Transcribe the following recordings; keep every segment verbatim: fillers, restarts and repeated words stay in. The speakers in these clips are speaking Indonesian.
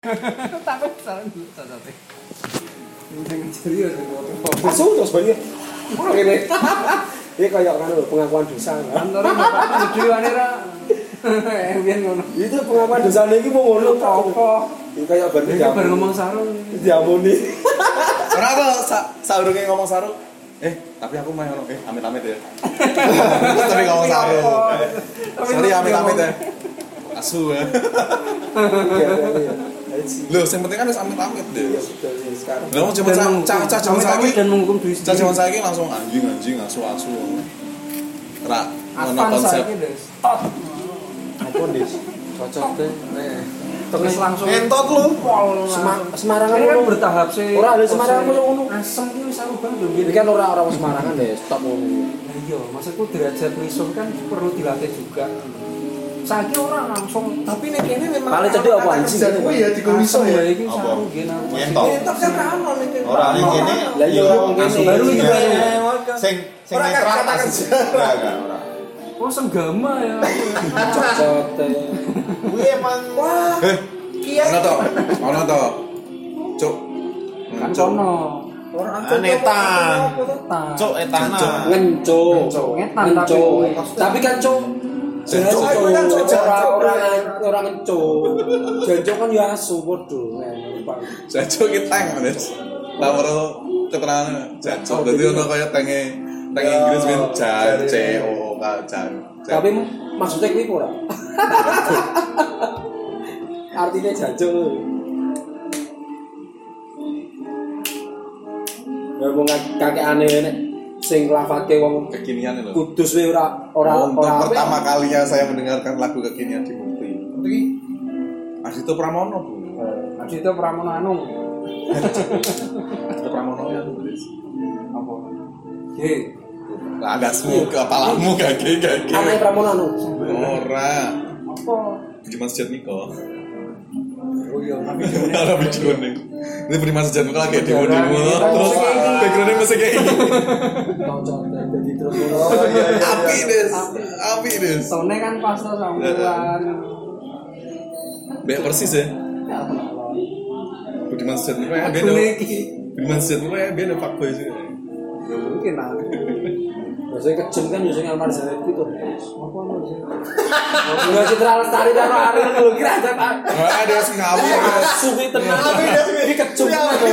Takut salah dulu tadi. Yang serius itu. Asu terus banyak. Ora ngene. Iki kaya ngono pengakuan dosa. Antara bapak gede wane ra. Biyen ngono. Itu pengakuan dosane iki mau ngono apa? Iki kaya bar iki bar ngomong sarung diamuni. Ora apa saurunge ngomong sarung. Eh, tapi aku mah ngono, eh amit-amit ya. Tapi ngomong sarung. Sorry amit-amit ya. Asu ya. Loh, yang penting kan harus amit-amit deh. Sekarang. Lah mau cuma caca cuma saiki dan menghukum diri caca cuma saiki langsung anjing-anjing asu-asu. Ra ngono Apa konsep. saiki, Des? Tot. Apa Des? Cocok deh. Terus langsung Entot lu. Semarangan kan ngono. bertahap sih. Ora ada Semarangan ngono. Asem ki wis aku bang lho. Iki kan ora orang Semarangan deh, stop ngono. Nah iya, maksudku derajat misuh kan perlu dilatih juga. Saiki orang langsung tapi nek kene memang paling cedek apa anjing kuwi ya dikomiso ya iki sarung gene. Entot. entok kan ra ono nek kene Ora ning kene. Lah iya wong kene baru iki baru. Sing sing Ora netral katakan ora ora. Oh senggama ya. cocok deh. kuwi emang wah Eh, kiai ono to? Ono to? Cuk. Kan sono. ora Anetan. Cuk etana. Ngenco. Ngetan Ngenco. tapi. Tapi kan cuk jelas Janco. cuk Kan cuk, ora janco. ora ora ngenco. Janco kan ya asu padha. Jancuk ki tank, Des. Lah baru keterangan jancuk. Dadi ono kaya tenge teng Inggris men jance o kacan. Tapi maksudnya kuwi ora. Artinya janco. Ya wong kakek aneh nek sing nglafake wong Kekinian lho. Kudus we ora ora Untuk ora pertama kalinya saya mendengarkan lagu kekinian di Mukti. Iki Ardhito Pramono, Bu. Adito Pramono anu. Ardhito Pramono ya, Des. Apa? Ye. Lah agasmu kepalamu gage-gage. aneh Pramono anu. Ora. Apa? Budiman Sujatmiko. Oh iya, tapi Ora video ning. Ini Budiman Sujatmiko lagi di demo. Terus background-nya masih kayak gini. Cocok dadi terus ngono. oh iya iya Api, Des. Api, Des. sone kan pas to sampean. Bek persis ya. Budiman Sujatmiko ya Aku beda. iki. Budiman Sujatmiko ya beda fuckboy sih. Ya mungkin lah. Biasanya kejem kan yo sing Almar Zaid itu. Apa lho sih? Enggak Citra Lestari karo Ariel lho kira aja Pak. Wah, ada yang ngawur. Asu ki tenan. Tapi dia Iki kejem.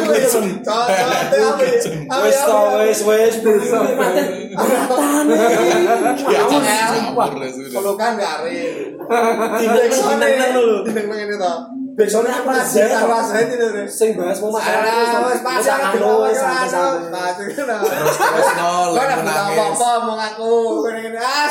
Wis Wis to wis wis bisa mate. Ratane. Ya, Aku ngawur lah sudah. pelukan gare Tidak seneng lho. tidak ngene to Besone Almar Zaid. Almar Zaid itu deh Sing bahas mau masalah wis pasang wis santai-santai. nah itu nah Terus terus nol, kok lagi nek menangis. apa-apa mau ngaku ngene-ngene as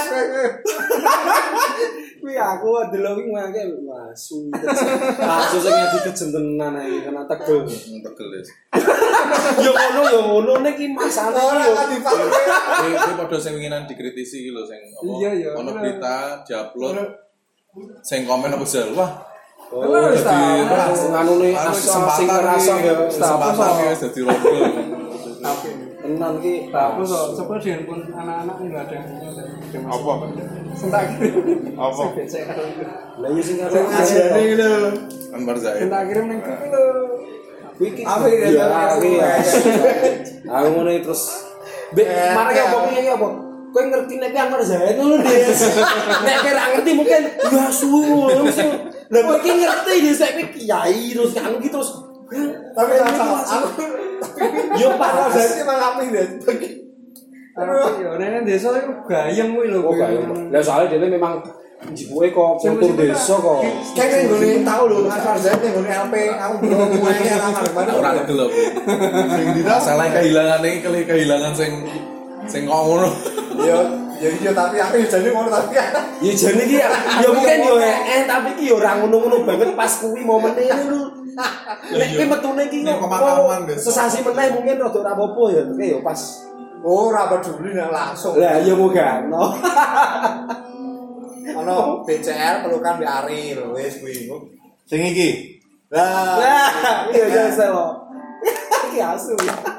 Kuwi aku delok iki mangke asu. Asu sing ngadi kejem tenan iki kena tegel. Hmm, Tegel, Des. Yo ngono yo ngono niki masalah ora iki. kan dipakai Ini ini pada sing winginan dikritisi iki lho sing apa? Iya, iya. Ono berita diupload sing komen apa jel. Wah, Oh, Wis ta. jadi nganune anu asa sing ngerasa ya kesempatan ya wis dadi rondo. Tapi tenan ki. tapi so sebab di handphone anak-anak enggak ada. Apa? Sentak kirim. Apa? Lah yo sing karo ajane lho Anwar Zaid. Sentak kirim ning grup lho. kuwi ki. Apa iki? Ya kuwi. Aku ngono terus Bek, marah ya apa piye apa? Kowe ngerti nek ki Anwar Zaid ngono, Des. Nek kowe ra ngerti mungkin ya suwe ngono. Lah kowe ki ngerti Des nek kiai terus anu ki terus tapi rasa aku yo Almar pas. Zaid malah apik deh Yo nek desa iku gayeng kuwi lho. Oh, lah soalnya dia memang jibuke kok kultur desa kok. kayak ngene tau lho Almar Zaid ngene L P aku belum mulai alamat mana Ora tegel aku. Sing dina salah kehilangan iki kali kehilangan sing sing ngono. yo ya iya tapi aku jadi ngono tapi Ya jane iki ya ya mungkin yo eh tapi iki yo ora ngono-ngono banget pas kuwi momene ngono. Nek kowe metune iki Nek pemakaman, Des. sesasi meneh mungkin rada ora apa-apa ya tapi yo pas. ora peduli nek langsung Lah ya moga no. ono B C R pelukan di Ariel wis kuwi Sing iki. lah Lah iya ya selo. Iki asu.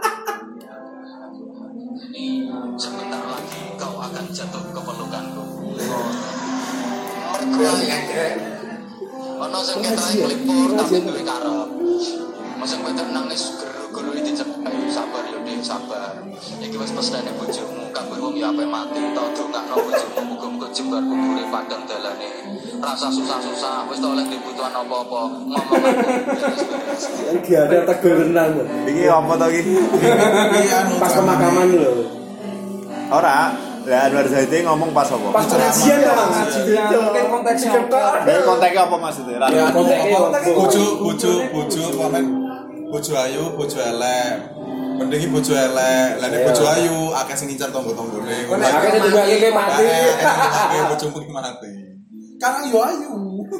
Sebentar lagi kau akan jatuh ke pelukanku. Kuwi sing Ono sing ketrae klipur tapi duwe karep. Masing wedok nangis guru-guru iki dicepai sabar yo Dik, sabar. Iki wis pesane bojomu, kabeh wong ya ape mati to dongakno bojomu muga-muga jembar kubure padang dalane. Rasa susah-susah wis to oleh dibutuhan apa-apa. Ngomong Iki ada tegur renang. Iki apa to iki? Iki anu Pas pemakaman lho. Ora, lah Anwar Zaidi ngomong pas apa? Pas pengajian ya, Pengajian, mungkin konteksnya apa? Dari konteknya apa maksudnya? Ya, konteknya bojo, bojo, bojo, komen bojo ayu, bojo elek. Mending iki bojo elek, lah nek bojo ayu akeh sing ngincar tonggo-tonggone. Akeh sing juga iki mati. Akeh bojomu iki mati. Karang yo ayu.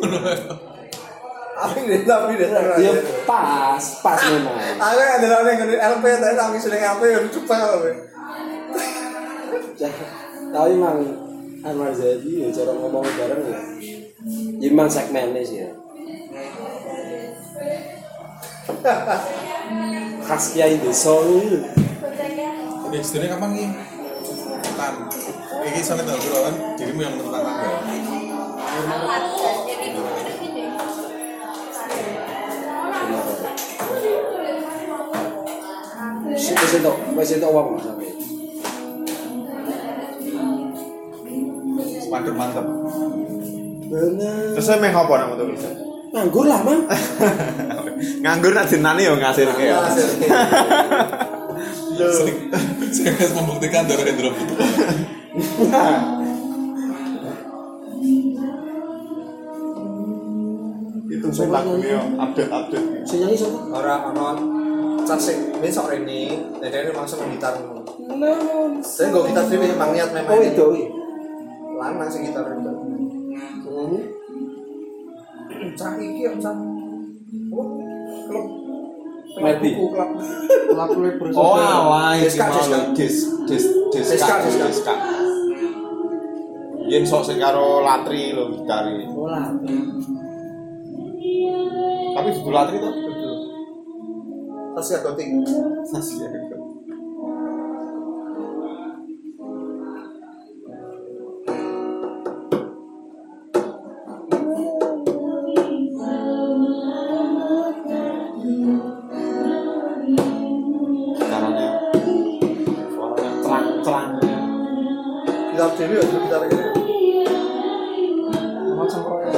Tapi deh, tapi deh. Ya pas, pas memang. Aku ada orang yang L P, tapi tapi sudah L P udah cukup apa? Tapi memang Anwar Zaidi ya cara ngomong bareng ya. Ya memang segmennya sih ya. Khas Kiai Desa itu. Ini sebenarnya kapan nih? Kan, ini soalnya tahu dulu kan, dirimu yang menentukan tanggal. Wes entuk, wes entuk wong sampe. Mantep mantep. Bener. Terus saya main apa nama tuh bisa? Nganggur lah, Mang. Nganggur nak jenane yo ngasilke ya. Sering sering membuktikan Doro Hendro Putra. Itu sing lagunya update-update. Sing nyanyi sapa? Orang orang casik besok ini, jadi langsung gitar. Namun. Saya nggak gitar sih, memang niat memang. Oh itu. Lanang sih gitar itu. Nyanyi. Cah iki bisa. Oh, klub. Mati. Klub. Lagu lebar. Oh, alah iki Deska, mau Deska. dis dis Deska, diska Deska. diska. Yen sok sing karo Latri lho gitare. Oh lah. Tapi dudu Latri to? Terus ya gotik. Sasi ya. Caranya suaranya terang-terang. Gitar dewi ya, gitar ini. Macam proyek.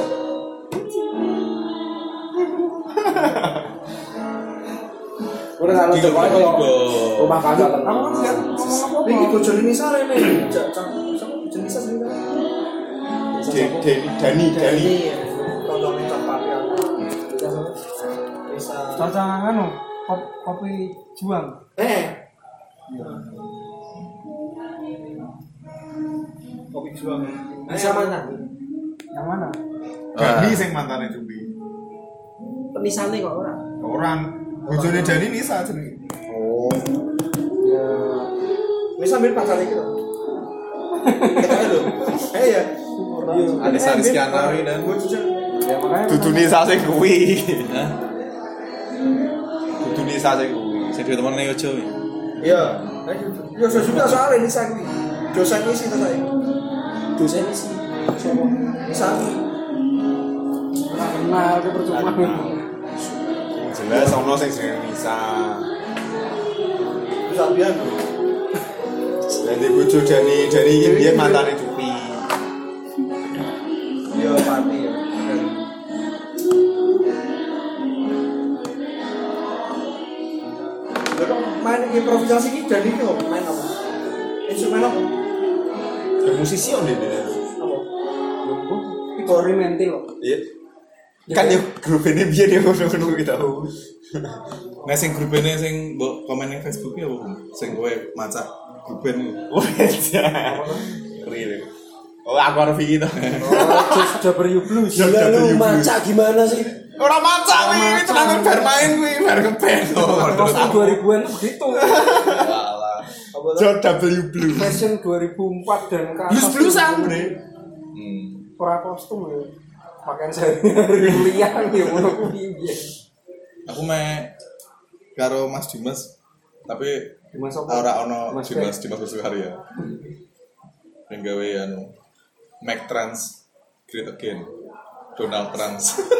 Udah kalau Tiga coba kali kalau rumah kaca Aku kan lihat ngomong Ini apa? bojone ini sare nih. Cak jenis sih. Deni Dani Dani. Tonton ini tempat yang bisa. Caca anu kop- kopi juang. Eh. Kopi juang. bisa mana? Yang mana? Dani sing mantane Cumbi. Penisane kok ora. Orang bojone Dani Nisa jenenge. Oh. Ya. Ini sambil pacar ini loh. Kita lho. Eh ya. Anissa Rizkyanawi dan Ya makanya. Dudu Nisa sing kuwi. Dudu Nisa sing kuwi. Sing dhewe temene Yojo. Iya. Ya sudah soal ini saya kuwi. Dosen isi to saya. Dosen sih. Sopo? Bisa. Nah, itu percuma. Jelas ono sing jenenge Nisa. Bisa biar. Dadi bojo Dani Dani iki biyen mantane Cupi. Iya, pati ya. Lalu main improvisasi ini dan ini kok main apa? Instrumen apa? Ya musisi on dene. Apa? Kori mentil loh. Iya. Kan yo grup ini biyen yo ngono-ngono kuwi tau. Nah sing grup ini sing mbok komen ning Facebook ya apa? Sing kowe maca grup ini. Wes. Real. Oh, aku harus iki to. Oh, just W Blues. Gila lu maca gimana sih? Ora maca kuwi, iki tenan bar main kuwi, bar ngeband. Terus dua ribuan begitu. Walah. Jod W Blue. Fashion dua ribu empat dan ke atas. Blues-bluesan, Bre. Hmm. Pra kostum ya. Pakaian sehari-hari kuliah ya ngono kuwi. Aku me karo Mas Dimas tapi Dimas apa? ora ono Mas Dimas Dimas Bersukarya. Yang gawe anu Mac Trans Great Again. Donald Trump.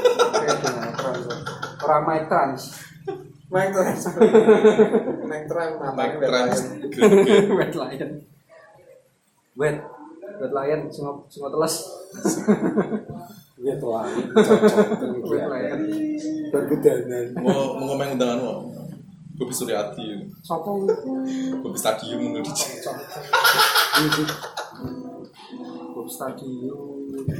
Orang Mike Trans. Mike Trans. Mike Trans Mike matane Trump. Wet Lion. Wet. Wet Lion semua semua telas. ya tuh cocok Wet Lion. bergedanan. Mau mau ngomong undangan lo. Bobi Suryati. Sopo Bobi Stadium ngono di. Bob Stadium.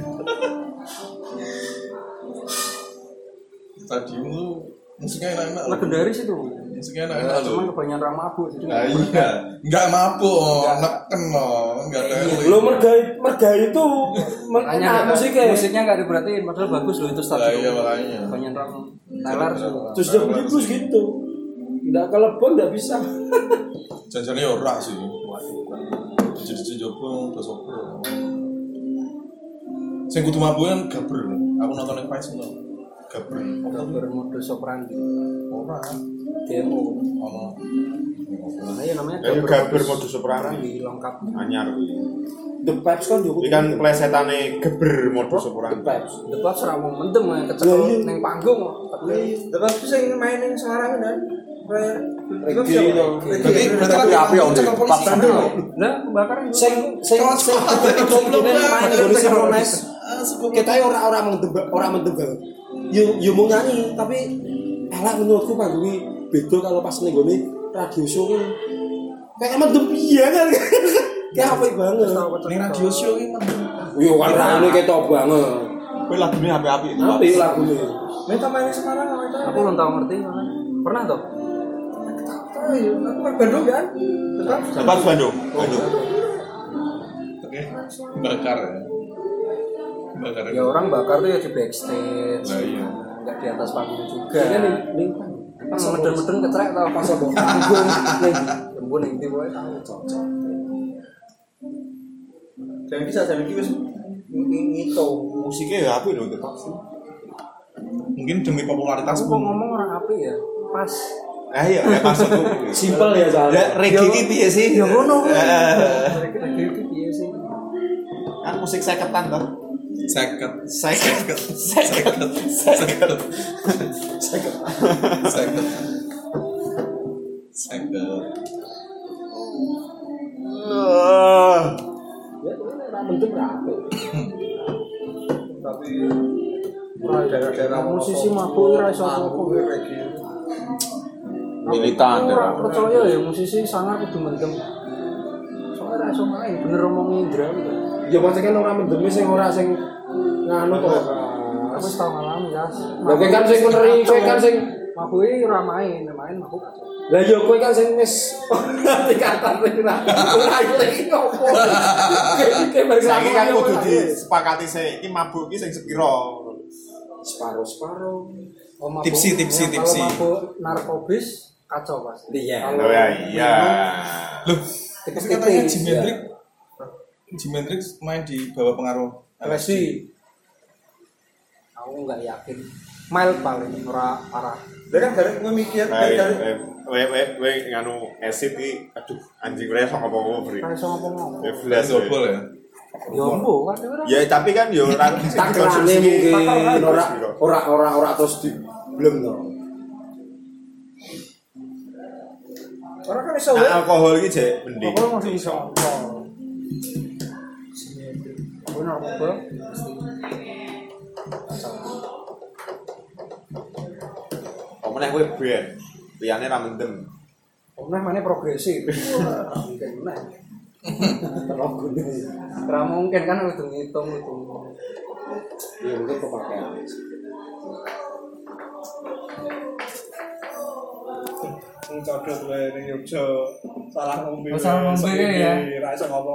Stadium lu musiknya enak-enak. Legendaris itu. Musiknya enak-enak lo. Cuman kebanyakan orang mabuk jadi. Nah iya, nggak mabuk, neken loh, nggak teli. Lo mergai mergai itu Makanya enak musiknya. musiknya nggak diperhatiin, padahal bagus loh itu Nah, Stadium. iya makanya. Kebanyakan orang Tyler sih. Terus dia bagus gitu. Nggak kelebon nggak bisa. Janjiannya ora sih. Jadi jopo terus opo. Sing kudu mabuk kan gaber. Aku nonton yang Vice itu. Gaber. Gambar modus operandi. Ora. Demo. Ono. Nah, iya namanya Ya gaber modus operandi lengkap. anyar kuwi. The Pipes kan juga. Iki kan plesetane geber modus The operandi. Pipes. Debat serang mau mendem ya kecekel Iya, iya. neng panggung. Terus sing main ning Semarang kan. Reggae itu. Berarti berarti kan api om. cekel polisi. Nah, kebakaran juga. Sing sing sing goblok main nggon sinkronis. Kita ora ora mendem ora mendem banget. Yo yo mau nyanyi tapi elak menurutku panggungi beda kalau pas ning gone radio show ki. Kayak mendem piye kan. Kayak apik banget. Ning radio show iki mah. Yo kan rame ketok banget. Kuwi lagune api-api itu. Apik lagune. Minta main di Semarang apa itu? Aku belum tahu ngerti. Pernah toh? Aku kan Bandung kan. Tetap Tempat Bandung. Bandung. Oke. Bakar ya. Bakar. Ya orang bakar tuh ya di backstage. Lah iya. Enggak di atas panggung juga. Iya nih ning Pas meden-meden ketrek tau pas apa panggung ning embun ning ndi wae tahu cocok. Dan bisa jadi wis ngito. Musiknya ya apik lho tetap sih. Mungkin demi popularitas Aku kok pun. ngomong orang apik ya. Pas Ah iya, ya maksudku. Simpel ya soalnya. Reggae iki piye sih? ya ngono. Eh, Lagi iki piye sih? Kan musik seketan toh. Seket. Seket. Seket. Seket. Seket. Seket. Seket. Ya tuh ora mendem rapi. Tapi daerah-daerah musisi mabuk ora iso apa-apa reggae. Militan, Aku ora daerah. percaya ya musisi sangar kudu mendem. Soalnya ora iso main, bener omong Indra gitu. Ya maksudnya kan orang mendemi sing ora sing nganu kok. Aku wis tau ngalamin ya. Lah kowe kan sing meneri, kowe kan sing mabuke ora main, main mabuk. lah ya kowe kan sing wis tingkatan wis ora ora iki opo. Kayak balik Saiki kan lagi kudu disepakati sih, iki mabuk iki sing sepiro. separo-separo. Oh, mabuk- Tipsi, tipsi, ya, tipsi. Kalau mabuk narkobis kacau pasti. Iya. Kalau Oh ya iya. Loh, tipis tapi katanya tipis. Jimi Hendrix Jimi Hendrix main di bawah pengaruh L S D. Aku nggak yakin. Mild paling ora parah. Lah kan garek kowe mikir Nah, eh, we we we nganu acid iki aduh anjing ora iso ngomong beri. Kan iso ngomong. Ya belas. Double ya. Ya mbo kan ora. Ya tapi kan yo ora takrane mungkin ora ora ora ora terus di belum to. Orang kan iso Nah, alkohol iki jek mending. Aku masih iso. Benar apa? Omene kowe ben. Liyane ra mendem. Nah, mana progresif. Mungkin nah. Ora mungkin kan udah ngitung itu. Ya mungkin pemakaian. Sing codot wae ning Yogya salah ngombe. Oh, salah ngombe ya. Ra iso ngomong.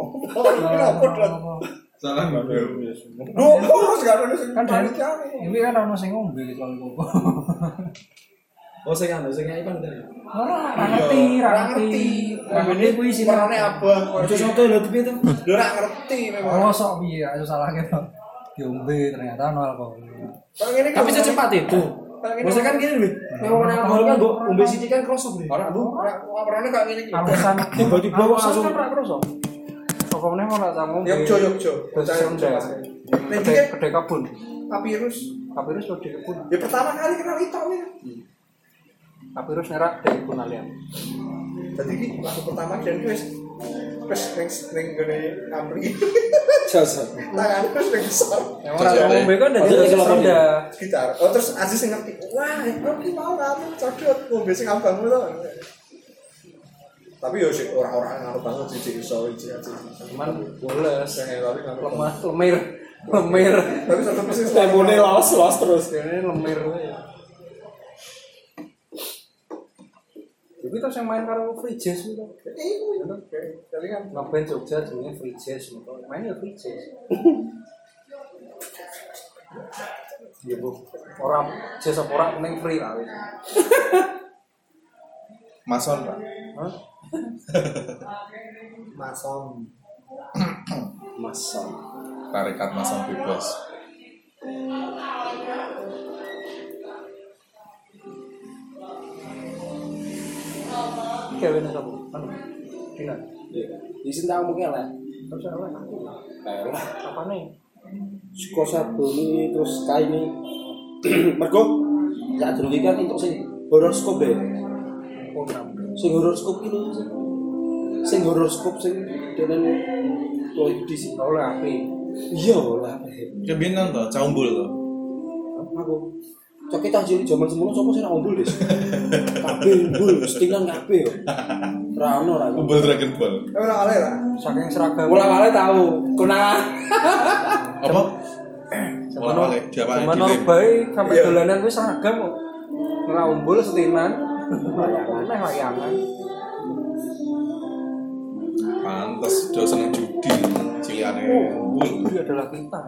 Salah ngombe. Duh, terus gak ada sing Kan dari ini kan ono sing ngombe gitu kok. Oh sing anu sing nyai kan tadi. Ora ngerti, ora ngerti. Ora ngerti kuwi sing warnane abang. Ojo soto lho piye to? Lho ra ngerti memang. Oh, sok piye aja salah gitu. Diombe ternyata ono alkohol. Kalau ngene Tapi secepat itu. Maksudnya kan gini nih, memang alkohol kan mbok ombe sithik kan krosok nih. ora bu, warnane kok ngene iki. Alasan Tiba-tiba kok langsung kan ora kroso. Kok meneh ora tak ngombe. Yogya Yogya. Terus Yogya. Nek Nek iki gede kebun. papirus. Papirus lo di kebun. Ya pertama kali kenal itu ini. Papirus nyerak dari kebun alian. Jadi ini waktu pertama dan wis wis ning ning gone ngapri. Jasa. Tangan wis ning besar. Yang orang ngombe kan dari Sunda. Gitar. Oh terus Aziz sing ngerti. Wah, kok ki mau ngambil codot ngombe sing abang to. Tapi yo sik ora-ora ngaruh banget sih iso iki aja. Cuman boles, Saya tapi kan lemah, lemir, lemir. tapi tetep mesti Tempone los-los terus. Ini lemir. Jadi terus yang main karo free jazz itu. iku tapi kan Ngeband Jogja jenenge free jazz. Mainnya free jazz. Iya bu, orang jazz apa orang mending free lah. Mason, Pak. Hah? masom. Masa. Tarekat Mason bebas. Kevin apa? Anu, Dina. Di sini tak ngomongnya lah. Terus apa? Kayak lah. Apa nih? Suka sabuni terus kaini. Mergo ya dulu kan untuk sing horoskop deh. Oh, enam. Sing horoskop iki lho. Sing horoskop sing denen tuh di sini. Oleh api. Iya lah. Kebinan to, caumbul to. Aku cok kita jadi zaman semono sapa sing ra ombul des. Kabeh ombul, setilan kabeh yo. Ra ono ra. Umbul Dragon Ball. Tapi ora oleh lah. Saking seragam. Mula-mula tahu konangan. Apa? Zaman Mulai diapa Zaman dilim. Norbai sampai dolanan wis seragam kok. Ora umbul setinan. Layangan, layangan. Pantes do seneng judi. Ciliane umbul. Itu adalah kita.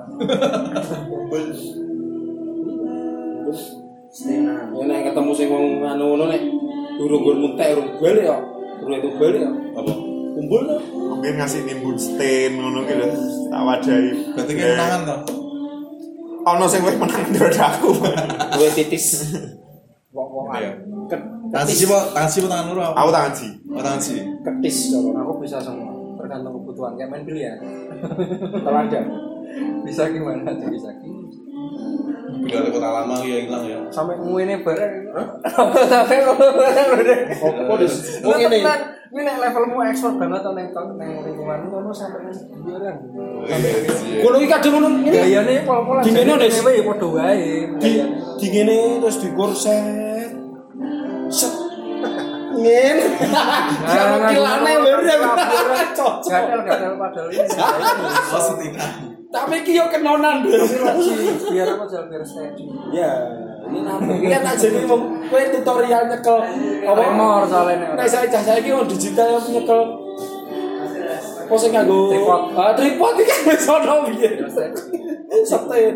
Setenan. Ya nek ketemu sing wong anu ngono nek durung gur muntek urung bali ya. Durung itu bali ya. Apa? Kumpul to. Mungkin ngasih nimbun stain ngono ki lho. Tak wadahi. Berarti kan menangan to. Ono sing wis menang daripada aku. Duwe titis. Wong-wongan. Iya. Ket- Tangan siji po, tangan siji po tangan loro. Aku tangan sih. Oh, tangan siji. Ketis kalau Aku bisa semua. Tergantung kebutuhan. Kayak main biliar. teladan. Bisa gimana tuh bisa gimana. Bila ada kota lama ya hilang ya. Sampai nguine bareng. Sampai bareng. Opo dis. Lu Wong ngene. tenan, ini nek levelmu ekspor banget atau neng tahun neng lingkungan ngono sampai nang biaran. Ngono iki kadung ngono ngene. Gayane pol-polan. Di ngene, Des. ya padha wae. Di di ngene terus dikorset. Set. Ngene. Jangan kilane bareng. Cocok. Gatel-gatel padahal ini. Oh, setingan. Tapi iki yo kenonan. Biar apa jalan biar steady. Ya, ini namanya ini kan tak jadi wong kowe tutorial nyekel apa Remor soalnya. nek saya cah saiki wong digital yang nyekel apa sing nganggo Tripod. ah tripod iki kan wis ono piye setin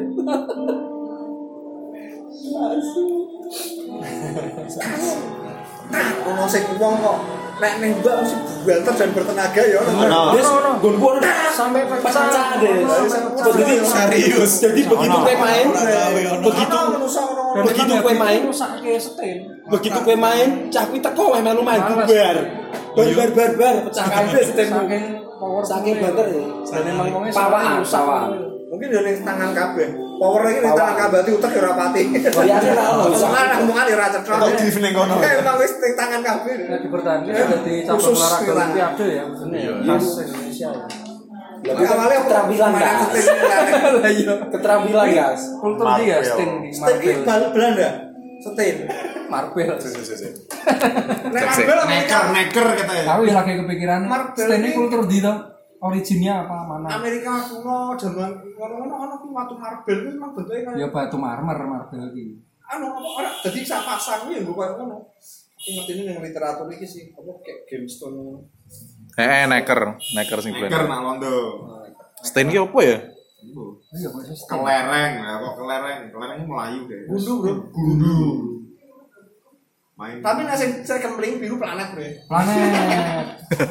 Ono sing wong kok nek ning mbak mesti buanter dan bertenaga ya. Ono. Des gonku ono Sampai pecah deh Begitu Serius. jadi begitu kowe main begitu begitu kowe main sakake setin. begitu kowe main cah kuwi teko weh melu main bubar bar bar bar pecah kabeh setinmu Saking power saking banter ya dan emang wongnya pawaan pawaan Mungkin yo ning tangan kabeh. Power iki ning tangan kabeh utek yo ora pati. bayane ra ono iso Soalnya omongan yo ora cetha. Kok di ning kono. Emang wis ning tangan kabeh. Nah, dipertahankan jadi cabang Khusus olahraga gitu lah. Olimpiade ya maksudnya ya khas Indonesia ya. Tapi awalnya aku keterampilan mainan gas setin kan. Lah iya. keterampilan gas Kultur dia sting di Setin iki Marvel. bal Belanda. Setin. Marvel. Nek Marvel Neker, neker katanya. Aku ya lagi kepikiran Marvel sting ini ini- kultur di to. Originnya apa mana? Amerika kuno jaman ngono-ngono ono ki watu marble kuwi memang bentuke Ya kaya batu marmer Marvel iki. anu apa ora dadi sak pasang kuwi nggo koyo ngono. Aku ngerti ning literatur iki sih apa kayak gemstone. Eh, neker, neker sing Neker brand. nak londo. Stain ki opo ya? Iya kok iso sting. Kelereng, lah kok kelereng. Kelereng ini Melayu deh. Gundu, Bro. Gundu. Main. Tapi nek sing sing kempling biru planet, Bro. Planet.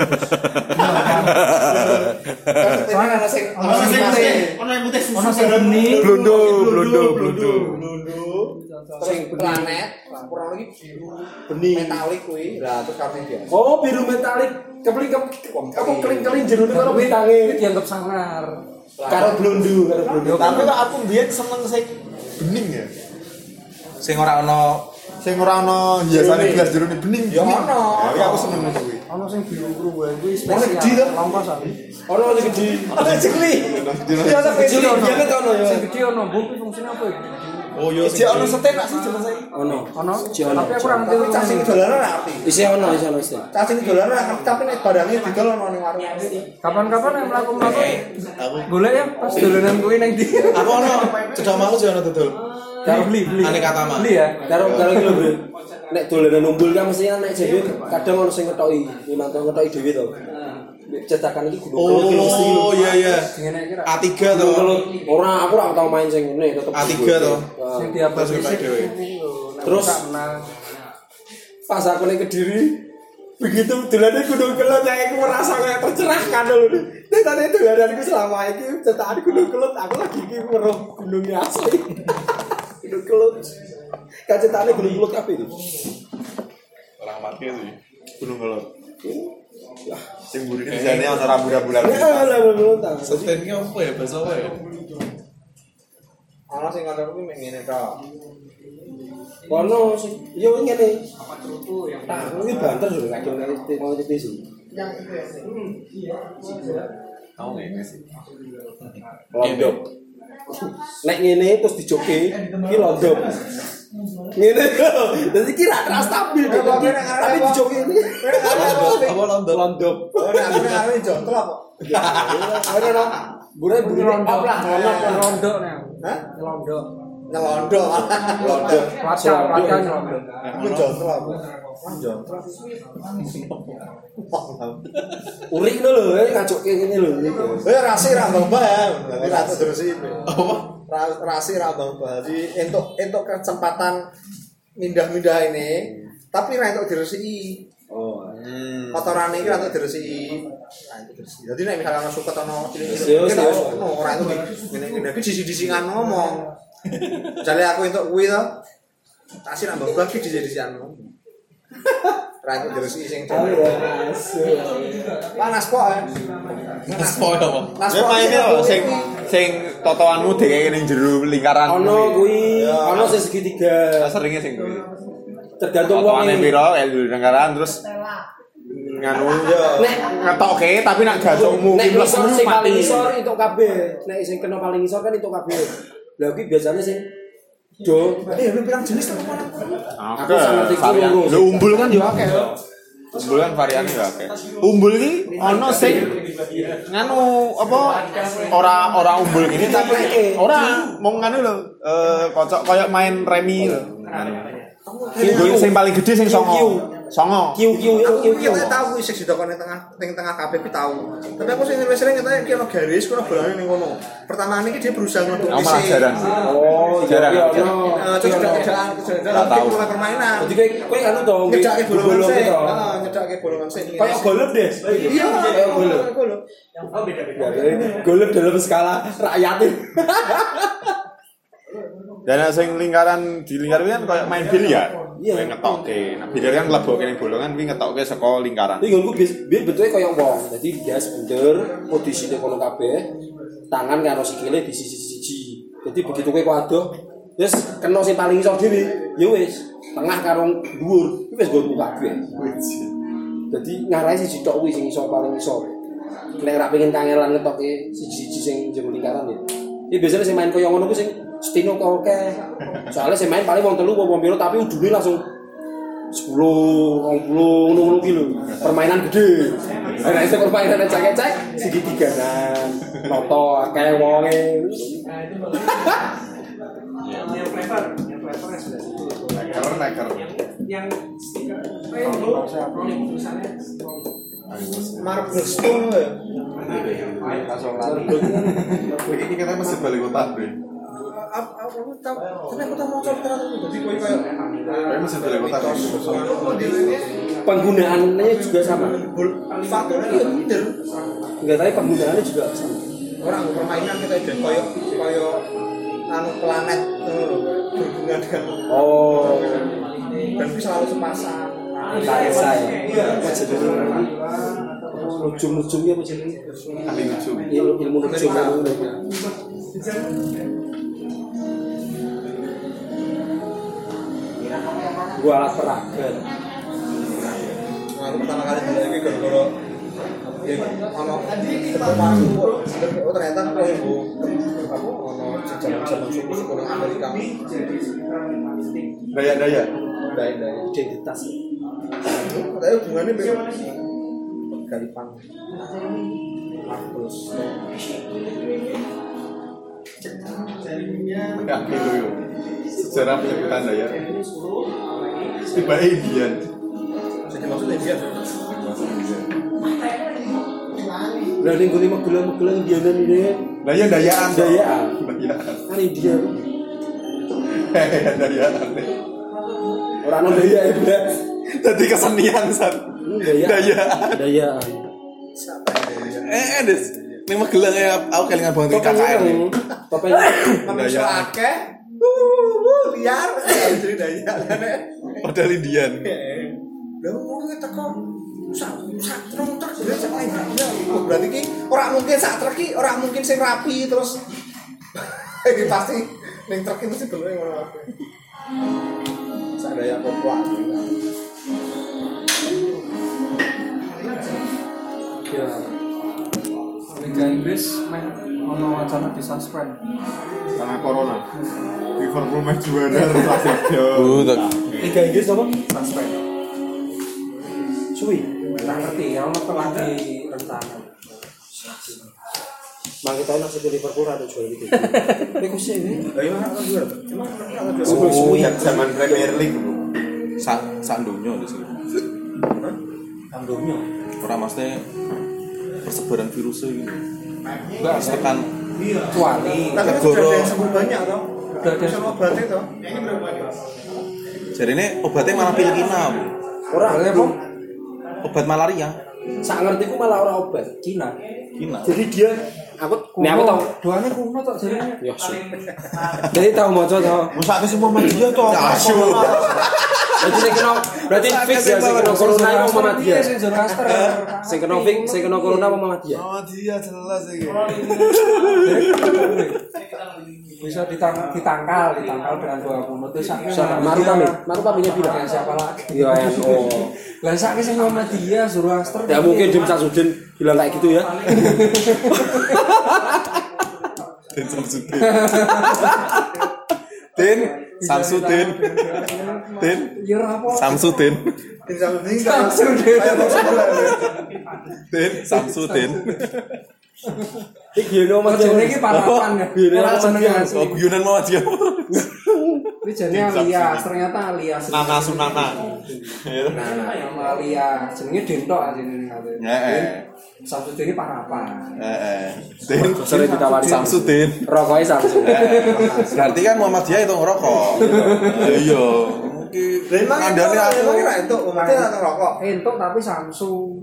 Soalnya ana sing Ono sing putih. Ono yang putih. Ono sing benih. Blondo, blondo, blondo. Blondo. Sing planet, kurang lagi biru benih metalik kuwi. Lah terus kartu biasa. oh biru metalik kepeling apa keling-keling jerone karo bitange Dianggap sangar. karo blondu karo blondu Tapi kok aku mbiyen seneng sing bening ya. Sing ora ono Sing ora ono hiasane gelas jerone bening. Ya ono. Ya aku seneng ngono kuwi. Ono sing biru-biru wae kuwi Ono gede to? spesial. Longkosan. Ono sing gede. Ono sing gede. Ya sak kecil ya kan ono ya. Sing gede ono, mbok kuwi fungsine apa ya? Oh yo Iki ono setek tak sih jelas iki. Ono. Ono. Ono. Tapi aku ora ngerti Tapi cacing dolaran ora ngerti. Isih ono, isih ono isih. Cacing dolaran ora ngerti tapi nek barangnya didol ono ning warung. Kapan-kapan yang mlaku-mlaku golek ya pas dolanan kuwi ning ndi. aku ono cedak malu sih ono dodol. Karo beli, beli. Aneka Tama. Beli ya. Karo karo iki lho, Bro. Nek dolanan umbul kan mesti nek dhewe kadang ono sing ngetoki, mantu ngetoki dhewe to. Cetakan iki kudu Oh iya iya. Ngene iki ra. A tiga to. Ora, aku ora tau main sing ngene tetep. A tiga to. Sing diapal Terus sik dhewe. Terus pas aku ning Kediri begitu dolanane gunung kelut yang aku merasa kayak tercerahkan lho. Nek tadi dolananku selama iki cetakan gunung kelut aku lagi iki weruh gunungnya asli. Gunung kelut. Kacetane gunung kelut kabeh iki. Orang mati sih. Gunung Kelut. Sing burine dijane ono rambu-rambulan. Ya lah belum tahu. Setennya apa ya bahasa apa ya? Ono sing ngono kuwi mek ngene to. Ono sing yo ngene. Apa cerutu yang tak kuwi banter lho kadang nek mau itu sih. Tahu ngene sih. Londok. Nek ngene terus dijoke iki londok. Ngene lho. Dadi kira ra stabil tapi dijoke ini. Apa londok? Londok. Ora aku nek arep jontel apa? Ora ora. Bure bure Londok apa lah. Londok nih. Hah? Londok. Nyelondo. Londok. Pelajar, pelajar Londok. Aku jontel apa? Ah jontel. Urik lho lho ngajokke ngene lho. Eh rasi ra mbah ya. Dadi ra terus iki. Apa? Rasi ra mbah. Jadi entuk entuk kesempatan mindah-mindah ini, tapi ra entuk diresiki. Oh. Kotorane iki ra entuk diresiki. Ra entuk diresiki. Dadi nek misalnya ana suket ana cilik-cilik, Yes, yes. ono ora entuk ngene-ngene iki disi-disingan ngomong. Jale aku entuk kuwi to. Tak sih nambah bagi disi-disian ngomong. Ra entuk diresiki sing panas kok. Mas poin apa? Panas Ya maine lho sing sing totoanmu dhewe ning jero lingkaran. Ono kuwi, ono sing segitiga. Seringe sing kuwi. Tergantung wong Totoane iki. piro ya lingkaran terus nganu yo Nek ngetoke tapi nak gantungmu nek ki mlebu ngisor sing paling mati. ngisor entuk kabeh. Nek sing kena paling ngisor kan entuk kabeh. Lah kuwi biasanya sing do. Eh lu pirang jenis to? Aku sangat iki loro. Lho umbul kan yo akeh. Umbul kan variane yo akeh. Umbul iki ana sing nganu apa ora ora umbul gini tapi ora mau nganu lho eh kocok koyo main remi lho. Umbul sing paling gede sing songo. Songo. Kiu kiu Aku kiu iki kiu. tak tahu sik didokone tengah ning tengah kabeh ki tahu. Tapi aku sing wis sering ngetake ki ono garis kono bolane ning kono. Pertama iki dia berusaha ngetuk Aku malah jarang. Oh, Jarang. iya ono. Eh terus kerjaan kerjaan tahu. mulai permainan. Jadi kowe kowe anu to, Nyedake bolongan bolong sik. to. Heeh, nyedake bolongan sik. Kayak golf deh. Iya, kayak golf. golf. Golf dalam skala rakyat. Dan sing lingkaran di lingkaran kan koyo main biliar. Iya. Kowe ngetoke. Nah, biliar kan mlebokke ning bolongan kuwi ngetoke saka lingkaran. Iki nggonku biar bentuknya kaya wong. Dadi gas bunder, posisine kono kabeh. Tangan karo sikile di sisi-sisi. Jadi begitu kowe waduh, wis kena sing paling isor dhewe. Ya wis, tengah karo dhuwur. Iki wis nggonku kabeh. Dadi ngarahe siji tok kuwi sing isor paling isor. Nek ora pengen kangelan ngetoke siji-siji sing jero lingkaran ya. Iki biasanya sing main kaya ngono ku sing Stino kok oke. Soalnya saya main paling wong telu wong piro tapi udune langsung sepuluh, dua puluh ngono kilo. Permainan gede. Nek iso permainan cek-cek segitiganan. Noto akeh wonge. Yang flavor, yang flavor Neker neker. yang stiker rainbow yang tulisannya Marble Stone ya. Langsung lari. Iki kita mesti balik kota, Bre. Aku tahu, tapi aku tahu mau coba jadi kowe koyo Kowe mesti balik kota. Penggunaannya juga sama. faktor iya leader. Enggak tahu penggunaannya juga sama. Orang permainan kita dan koyo koyo anu planet ngono lho, berhubungan dengan Oh, dan bisa selalu sepasang. Kaisa ya. Apa jenenge? Nujum-nujumnya apa jenenge? Ahli nujum. Ilmu ilmu nujum. gua alat peraga. Nah, aku pertama kali dulu ini gara-gara ya ono ketemu oh ternyata aku ibu aku ono jajanan suku-suku di Amerika. Daya-daya. Daya-daya Identitas. tapi hubungannya beda Galipang terus Ya gitu yo. Sejarah penyebutan daya. Tiba Indian. jadi maksudnya dia Lah ning gone megel-megel Indianan ini. Daya dayaan. Dayaan. Dayaan. Kan India. Hehehe dayaan. Ora ono daya ya, Bro. Dadi kesenian san. Daya. Dayaan. Dayaan. Eh, des. Ning Magelang ya aku kelingan banget K K N. Topeng. manusia akeh uh liar jadi daya Modal Indian. lha ngono ki teko sak sak truk truk berarti berarti ki ora mungkin sak truk ki ora mungkin sing rapi terus iki pasti ning truk itu sih belum ngono kabeh sak daya koplak Ya. Liga Inggris main ono wacana di suspend. Karena corona. Liverpool meh juara Liga. Betul. Liga Inggris apa? Suspend. Suwi. Nggak ngerti ya, ono pelatih rencana. Mang kita nang sing Liverpool ada juara gitu. Iku sih ini. lha yo ora juara emang ora juara Oh, zaman Premier League bro. Sak sak donya di sini. Tangdomnya. Ora mesti persebaran virusnya gitu. Enggak Tekan kecuali tapi Negoro. sudah ada yang sembuh banyak toh Udah ada. bisa obatnya toh jadi ini obatnya malah pilkina. Ora Boleh, belum. Obat malaria. Sak ngertiku malah ora obat. Cina. Kina. Jadi dia aku Kuno, nek aku tahu. doanya kuno tok jadinya. Ya su. Jadi tahu maca tahu. masa ke semua manusia toh Asu. Berarti sing kena berarti fix ya sing kena corona iku Muhammadiyah. Sing Zoroaster. Sing kena fix sing kena corona apa Muhammadiyah? Oh dia jelas iki. Bisa ditang ditangkal, ditangkal dengan doa kuno itu sak. Siapa? Maruf Amin. Maruf Aminnya bilang Ya, siapa lagi? Ya N O. Lah sak sing Muhammadiyah, Zoroaster. Ya mungkin Dim Samsudin bilang kayak gitu ya. Den Samsudin. Den Samsudin. Den Ya ora apa. Samsudin. tinggal ini Samsudin. kayak mau sebulan Den Samsudin. Iki yo Mas Jadi ini parapan ya. Biar Orang aku seneng seneng. asli. Oh guyonan Muhammadiyah. Ini jadi alias, ternyata alias. Nana Sunana. Nah, nama alias. Jenenge Dento asline ngene. Heeh. Samsudin ini parapan. Heeh. Den Sering ditawari Samsudin. Rokoknya Samsung. Berarti kan Muhammadiyah itu ngerokok. Iya. Mungkin emang kandane aku. emang kira itu umatnya atau rokok Entuk tapi Samsung.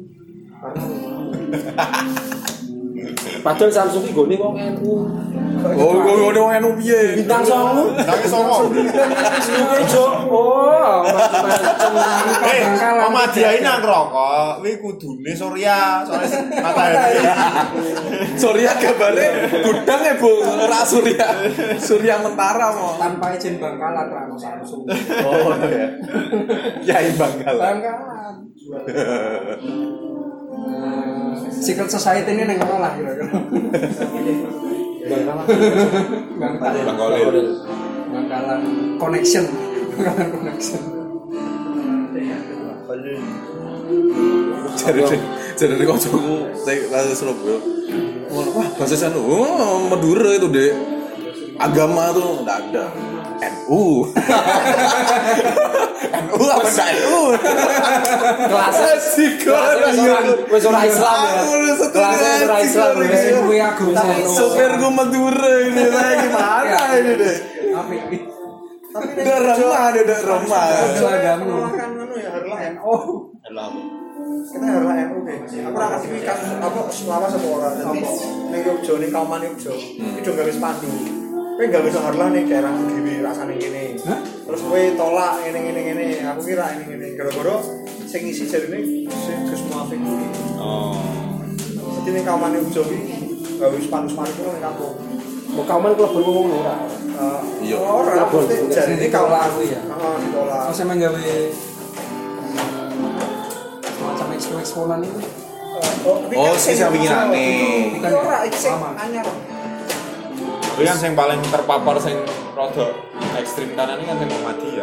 Padahal Samsung iki gone wong N U. Oh, kok ngono wong enu piye? Bintang songo. Nang songo. Jo. Oh, Eh, Muhammadiyah ini nang rokok, kuwi kudune Surya, soalnya matahari. Surya gambare gudang ya, Bu. Ora Surya. Surya Mentara mo. Tanpa izin Bangkalan ra ono Samsung. Oh, ya. Yai Bangkalan. Bangkalan. Eh, Secret Society ini neng mana lah kira-kira? Bangkalan. Bangkalan. Bangkalan. Bangkalan connection. Bangkalan connection. Jadi jadi kancaku saya lagi Surabaya. Wah, bahasa sana, oh, Madura itu deh. Agama tuh enggak ada. N U. N U apa enggak N U? Kelasnya wis ora Islam ya. Kelasnya ora Islam. Kuwi aku Sopir gue Madura ini lagi gimana ini deh? Apa ini? Udah remah, udah udah remah. Selagamu. kan anu ya harlah N U Oh, kita harlah N U guys aku ora ngerti iki kasus apa selawas apa ora dadi ning Yogyo ning Kauman Yogyo iki do gawe spanduk kowe gawe iso harlah ning daerah dhewe rasane kene terus kowe tolak ngene ngene ngene aku kira ngene ngene gara-gara sing isi jarine sing Gus Muafik kuwi Oh. dadi ning Kauman Yogyo iki gawe spanduk-spanduk ning kampung Mau kauman klub berwong ora. Iya. Ora mesti jadi Sing kau ditolak kuwi ya. Heeh, ditolak. Terus emang gawe semacam ekspor-eksporan itu. Oh, sing sing wingirane. Bukan ora iki sing Sama. anyar. Tapi kan yang paling terpapar sing rada ekstrim kanan ini kan sing Muhammadiyah.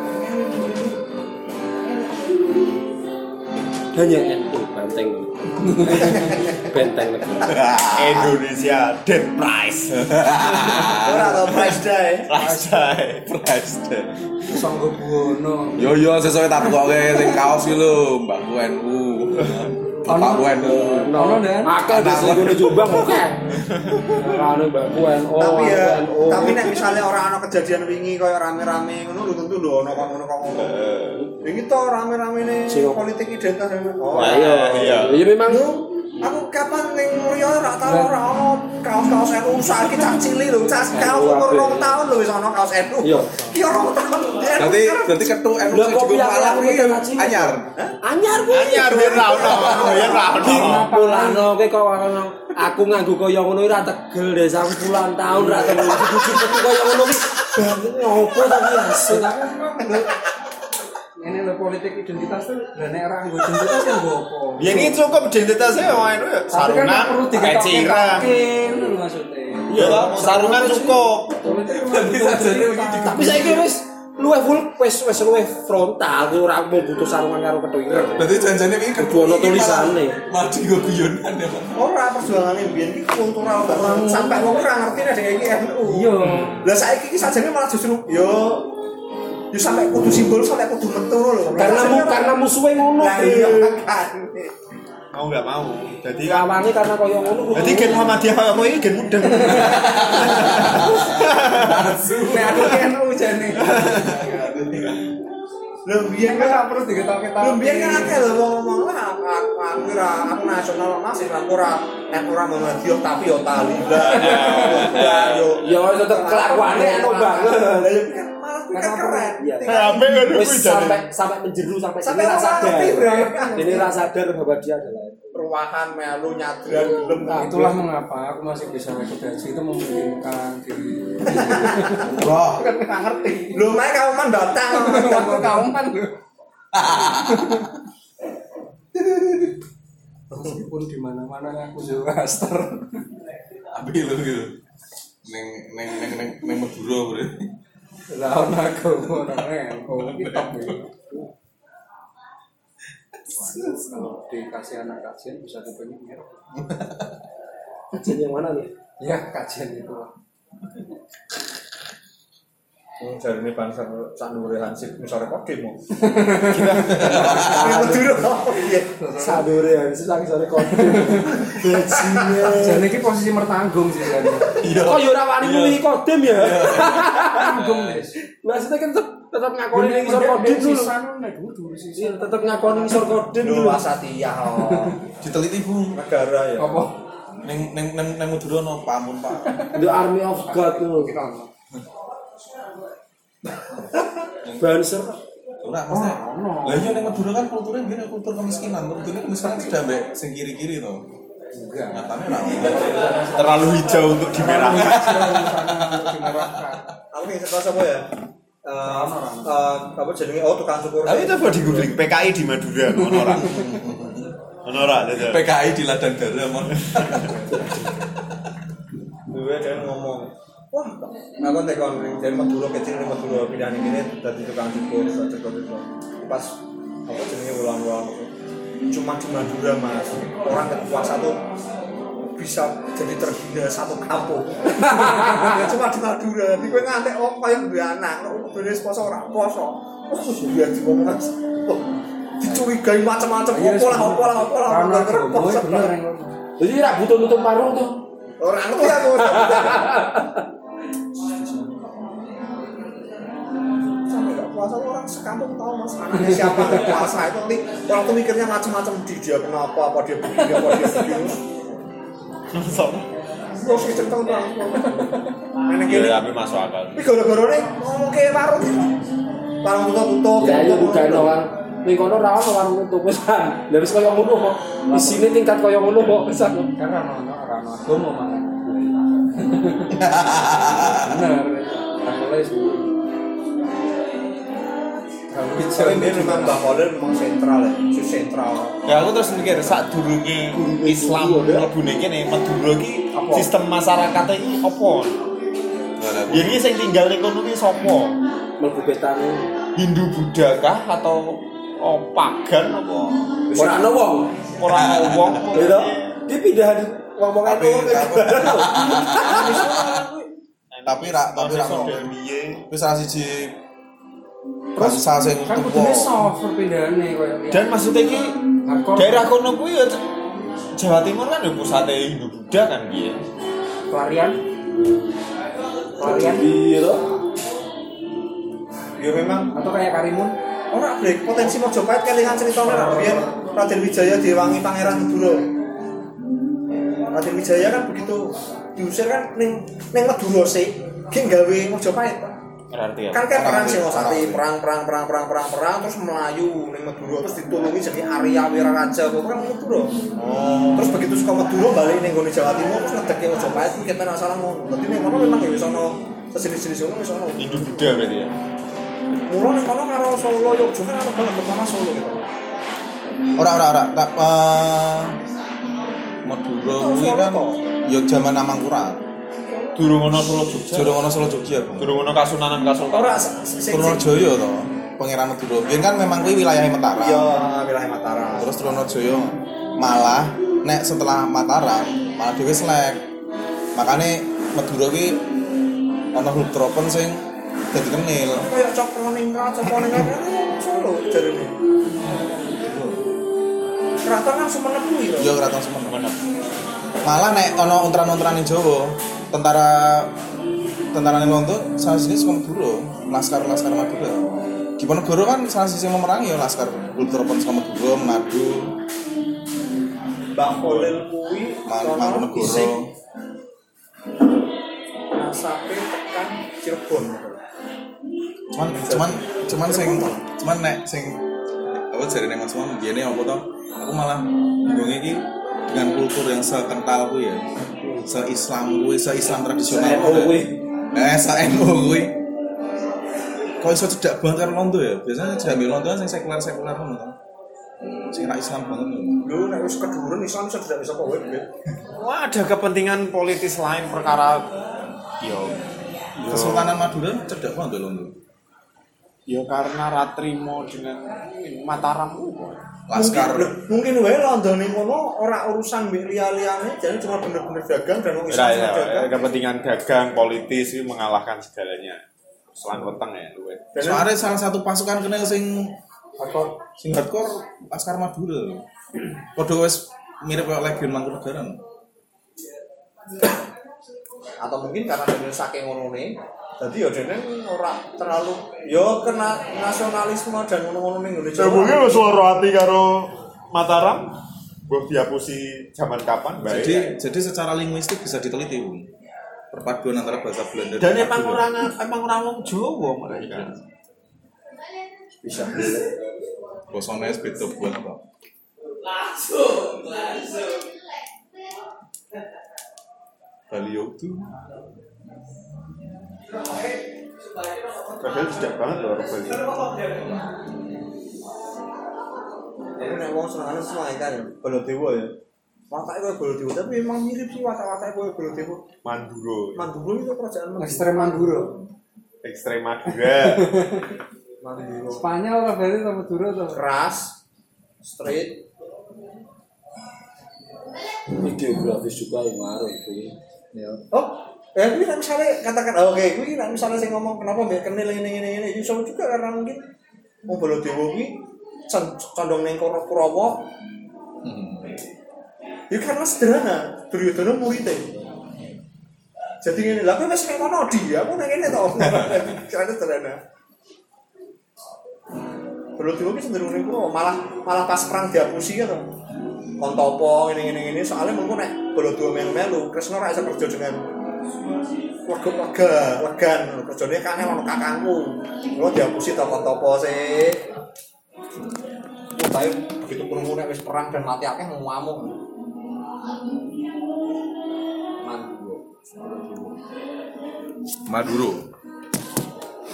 Hanya N U banteng. Benteng negara. Indonesia Dead Price. Ora tau price day. Price Day, Price Day. Sanggo Buwono. Yo yo sesuai takoke sing kaos iki lho, Mbak U N U. Pak U N U. Ono dan Akeh wis ngono Jombang oke. Anu Mbak U N O. Tapi ya, tapi nek misalnya orang ana kejadian wingi koyo rame-rame ngono lho tentu lho ana kok ngono kok ngono. Wingi to rame-ramene politik identitas. Oh, Lah iya. Ya memang aku kapan ning Mulya ora tau ora ono kaos-kaos N U saiki cah cilik lho, cah kaos umur rong tahun lho wis ono kaos N U. Iya. Ki rong tahun. Berarti berarti ketu N U Lah, sing kok cukup piye malah aku kuwi ketemu anyar. anyar kuwi. Anyar biyen ra ono, biyen ra ono. Pulano kowe kok ono aku nganggo kaya ngono ora tegel desa aku puluhan tahun ra tau bujuk-bujuk kaya ngono ki. Banget ngopo tapi asu. ini lo politik identitas tuh dan era nggo identitas kan nggo apa? Ya ini cukup identitasnya yang itu ya. Tapi kan Sarungan, perlu peciran. diketoke-ketoke ngono maksudnya. Iya, sarungan cukup. Politik memang Tapi saiki wis luwih full wis wis luwih frontal kowe ora mau butuh sarungan karo kethoiran. Berarti janjane iki Kudu ono tulisane. Mati go guyonan ya, Pak. Ora perjuangane mbiyen iki kultural banget. Sampai wong ora ngerti nek iki N U. Iya. Lah saiki iki sajane malah justru yo yo sampai kudu simbol sampai kudu metu lho. Karena mu karena musuhe ngono. Lah iya kan. Mau nggak mau. Jadi kan Lawange karena kaya ngono. jadi gen Muhammadiyah kaya kowe iki gen mudeng. Nek aku N U jane. Lho biyen Kan kan gak perlu diketoke-toke. Lho biyen kan akeh lho ngomong lah aku aku ora aku nasional masih aku ora nek ora Muhammadiyah tapi yo Taliban. Yo Ya tetep kelakuane anu banget. Lah yo kan malah kuwi kan keren. Iya. Sampai ngono Wis kuwi jane. sampai sampai menjeru sampai Sampai sini rasa sadar. ngerti, Bro. Ini rasa sadar bahwa dia adalah Ruahan melu nyadran gelem. Nah, itulah mengapa aku masih bisa ikut haji itu memungkinkan diri. Wah, Kan nggak ngerti. Lho mek kauman batang. Aku kauman lho. Meskipun di mana-mana aku Zoroaster. Abi lho gitu. Neng neng neng neng neng Madura bre. Lah ono aku orangnya aku kitab iki. Kalau dikasih anak kajian bisa kepengen. kajian yang mana nih? Ya kajian itu. Wong jarine bangsa sanure Hansip misore kodim. Ini Madura. Iya. Sadure ya, wis lagi sore kode. Bajingan. Jane iki posisi mertanggung sih jane. Kok yo ora wani muni kodim ya? Tanggung Des. Maksudnya kan tetep tetep ngakoni ning isor kodim dulu. nek dulu sih. Iya, tetep ngakoni isor kodim Lho dulu. Wasatiyah. Diteliti Bu. Negara ya. Apa? Neng neng neng neng Madura no pamun Pak. The Army of God tuh. Banser. Ora maksudnya. Lah iya neng Madura kan kulturnya gini kultur kemiskinan. Kulturnya kemiskinan sudah mbek sing kiri-kiri to. Enggak. Nyatanya ra. terlalu hijau untuk dimerahkan. Aku ingin sekolah apa ya? Eh, eh, apa jenenge? Oh, tukang cukur. Tapi coba di googling P K I di Madura ono ora? Ono ora ada. P K I di Ladang Gara mon. Dua dia ngomong, wah, aku tekon dari Madura kecil di Madura pindah nih gini dari tukang cukur, tukang cukur itu. Pas apa jenenge ulang-ulang cuma di Madura mas, orang kepuasa tuh bisa jadi terhina satu kampung. Cuma di Madura, di gue ngantek oh kayak dua anak, lo beres poso orang poso, oh sudah ngomong mas, dicurigai macam-macam, opo lah, opo lah, opo lah, Karena opo lah, aku bener yang Jadi ra butuh nutup parung tuh. orang tuh aku. Sampai nggak puasa orang sekampung tahu mas anaknya siapa nggak puasa itu nanti orang tuh mikirnya macam-macam di dia kenapa apa dia begini apa dia begini. Terus kita tahu bang. Nenek ini. Iya, tapi masuk akal. Tapi gara-gara nih ngomong ke warung, warung tutup-tutup. Ya ya bukan orang. Ning kono ra ono warung tutup pisan. Lah wis kaya ngono kok. Isine tingkat kaya ngono kok pisan. karena ono ora ono agama malah. Bener. Mulai suwi. Tapi dia memang Mbak Kolil memang sentral ya, sus sentral. Ya aku terus mikir saat durunge Islam mlebune kene Madura iki sistem masyarakate iki apa? Ya iki sing tinggal ekonomi sapa? Mlebu betane Hindu Buddha kah atau oh, pagan apa? ora ana wong. Ora ana wong. Gitu. Dia pindah ngomong Tapi itu. tapi rak tapi rak piye? wis salah siji bangsa sing Kan tuwa. kudune soft perpindahannya koyo Dan maksudnya iki hardcore. daerah kono kuwi ya Jawa Timur kan ya pusate Hindu Buddha kan piye? pelarian. Pelarian Iya. Ya memang atau kayak Karimun. ora brek potensi Mojopahit kelingan critane ra biyen Raden Wijaya diwangi Pangeran Madura. Raden Wijaya kan begitu diusir kan ning ning Madura sih, ki gawe Mojopahit. Berarti ya. Kan kan perang Singosari, perang perang perang perang perang perang terus Melayu ning Madura terus ditulungi jadi Arya Wiraraja kok kan Madura. Oh. Terus begitu suka Madura balik ning gone Jawa Timur terus ngedeki Mojopahit ki kepen masalah ngono. Dadi ning kono memang ya wis ono sejenis-jenis ngono wis ono. Hindu Buddha berarti ya. Mula ning kono karo Solo Yogyakarta kan ono banget pertama Solo gitu. Ora ora ora. Tak eh, Madura kuwi kan ya jaman Amangkurat. Durung ono Solo Jogja. Durung ono Solo Jogja, Bang. Durung ono Kasunanan Kasultanan. Ora sing Trunojoyo to, Pangeran Madura. Biyen kan memang kuwi wilayah Mataram. iya wilayah Mataram. Terus Trunojoyo malah nek setelah Mataram malah dhewe slek. Makane Madura kuwi ana Hultropen sing dadi kenil. Kayak Cokroningrat, Cokroningrat Solo jarene. Keraton kan Sumenep kuwi lho. Iya Keraton Sumenep. Malah nek ana untran-untran ning Jawa, tentara tentara ning Londo salah siji saka Madura, laskar-laskar Madura. Diponegoro kan salah siji sing memerangi ya laskar Hultropen saka Madura, Manado, Mbak Kolil kuwi Mangkunegoro. nasape tekan Cirebon. Cuman cuman cuman sing cuman nek sing apa jarene Mas Mon ngene apa to? Aku malah bingung iki dengan kultur yang sekental kuwi ya. Se-Islam kuwi, se-Islam tradisional kuwi. Eh, se-N U kuwi. Kok iso cedak banget karo Londo ya? Biasanya jambe Londo kan sing sekuler-sekuler ngono to. Sing ra Islam banget lho. Lho nek wis keduren Islam iso tidak bisa kowe. Wah, ada kepentingan politis lain perkara yo Kesultanan Madura cedak banget lho Londo. yo karena Ratrimo dengan Mataram itu. Laskar Mungkin wae Londo ning kono ora urusan mbek liya-liyane, jadi cuma bener-bener dagang dan wong Islam Ya, ya, dagang. kepentingan dagang politis itu mengalahkan segalanya. Selang weteng ya luwe. soalnya salah satu pasukan kenal sing hardcore sing hardcore Laskar Madura. Padha wis mirip kaya Legiun Mangkunegaran. Atau mungkin karena dene saking ngonone jadi ya dene ora terlalu ya kena nasionalisme dan ngono-ngono ning Indonesia. Ya mungkin lo suara hati karo Mataram buat dihapusi zaman kapan baik. Jadi jadi secara linguistik bisa diteliti, Bung. Perpaduan antara bahasa Belanda Dan emang orang emang orang wong Jawa mereka. Bisa. Bosone wis beda buat apa? Langsung, langsung. Balio tuh. Padahal tidak banget loh orang Bali. Jadi nek wong senengane semua kan Baladewa ya. Watake koyo Baladewa tapi memang mirip sih watak-watake koyo Baladewa. Manduro, Manduro itu kerajaan Manduro. Ekstrem Manduro. ekstrem Madura. Manduro. Spanyol lah berarti sama Maduro tuh. Keras, straight. Geografis juga yang ngaruh itu. Ya. Oh, eh kuwi nek misale katakan oh, oke, kuwi nek misale sing ngomong kenapa mbek kenil ngene-ngene iki iso juga karena mungkin wong Baladewa kuwi condong ning Kurawa. Ya karena sederhana, Duryodana muridé. Jadi ngene, lha kowe wis ning kono di, aku ning kene to. Karena sederhana. Baladewa ki cenderung ning Kurawa, malah malah pas perang dihapusi kan. Kontopo ngene-ngene ngene soalnya mengko nek Baladewa melu-melu Kresna ora iso kerja dengan lega legan kerjane kangen ono kakangku. Lho dihapusi to Kontopo sih. Tapi begitu krungu nek wis perang dan mati akeh ngamuk. Manduro. Maduro.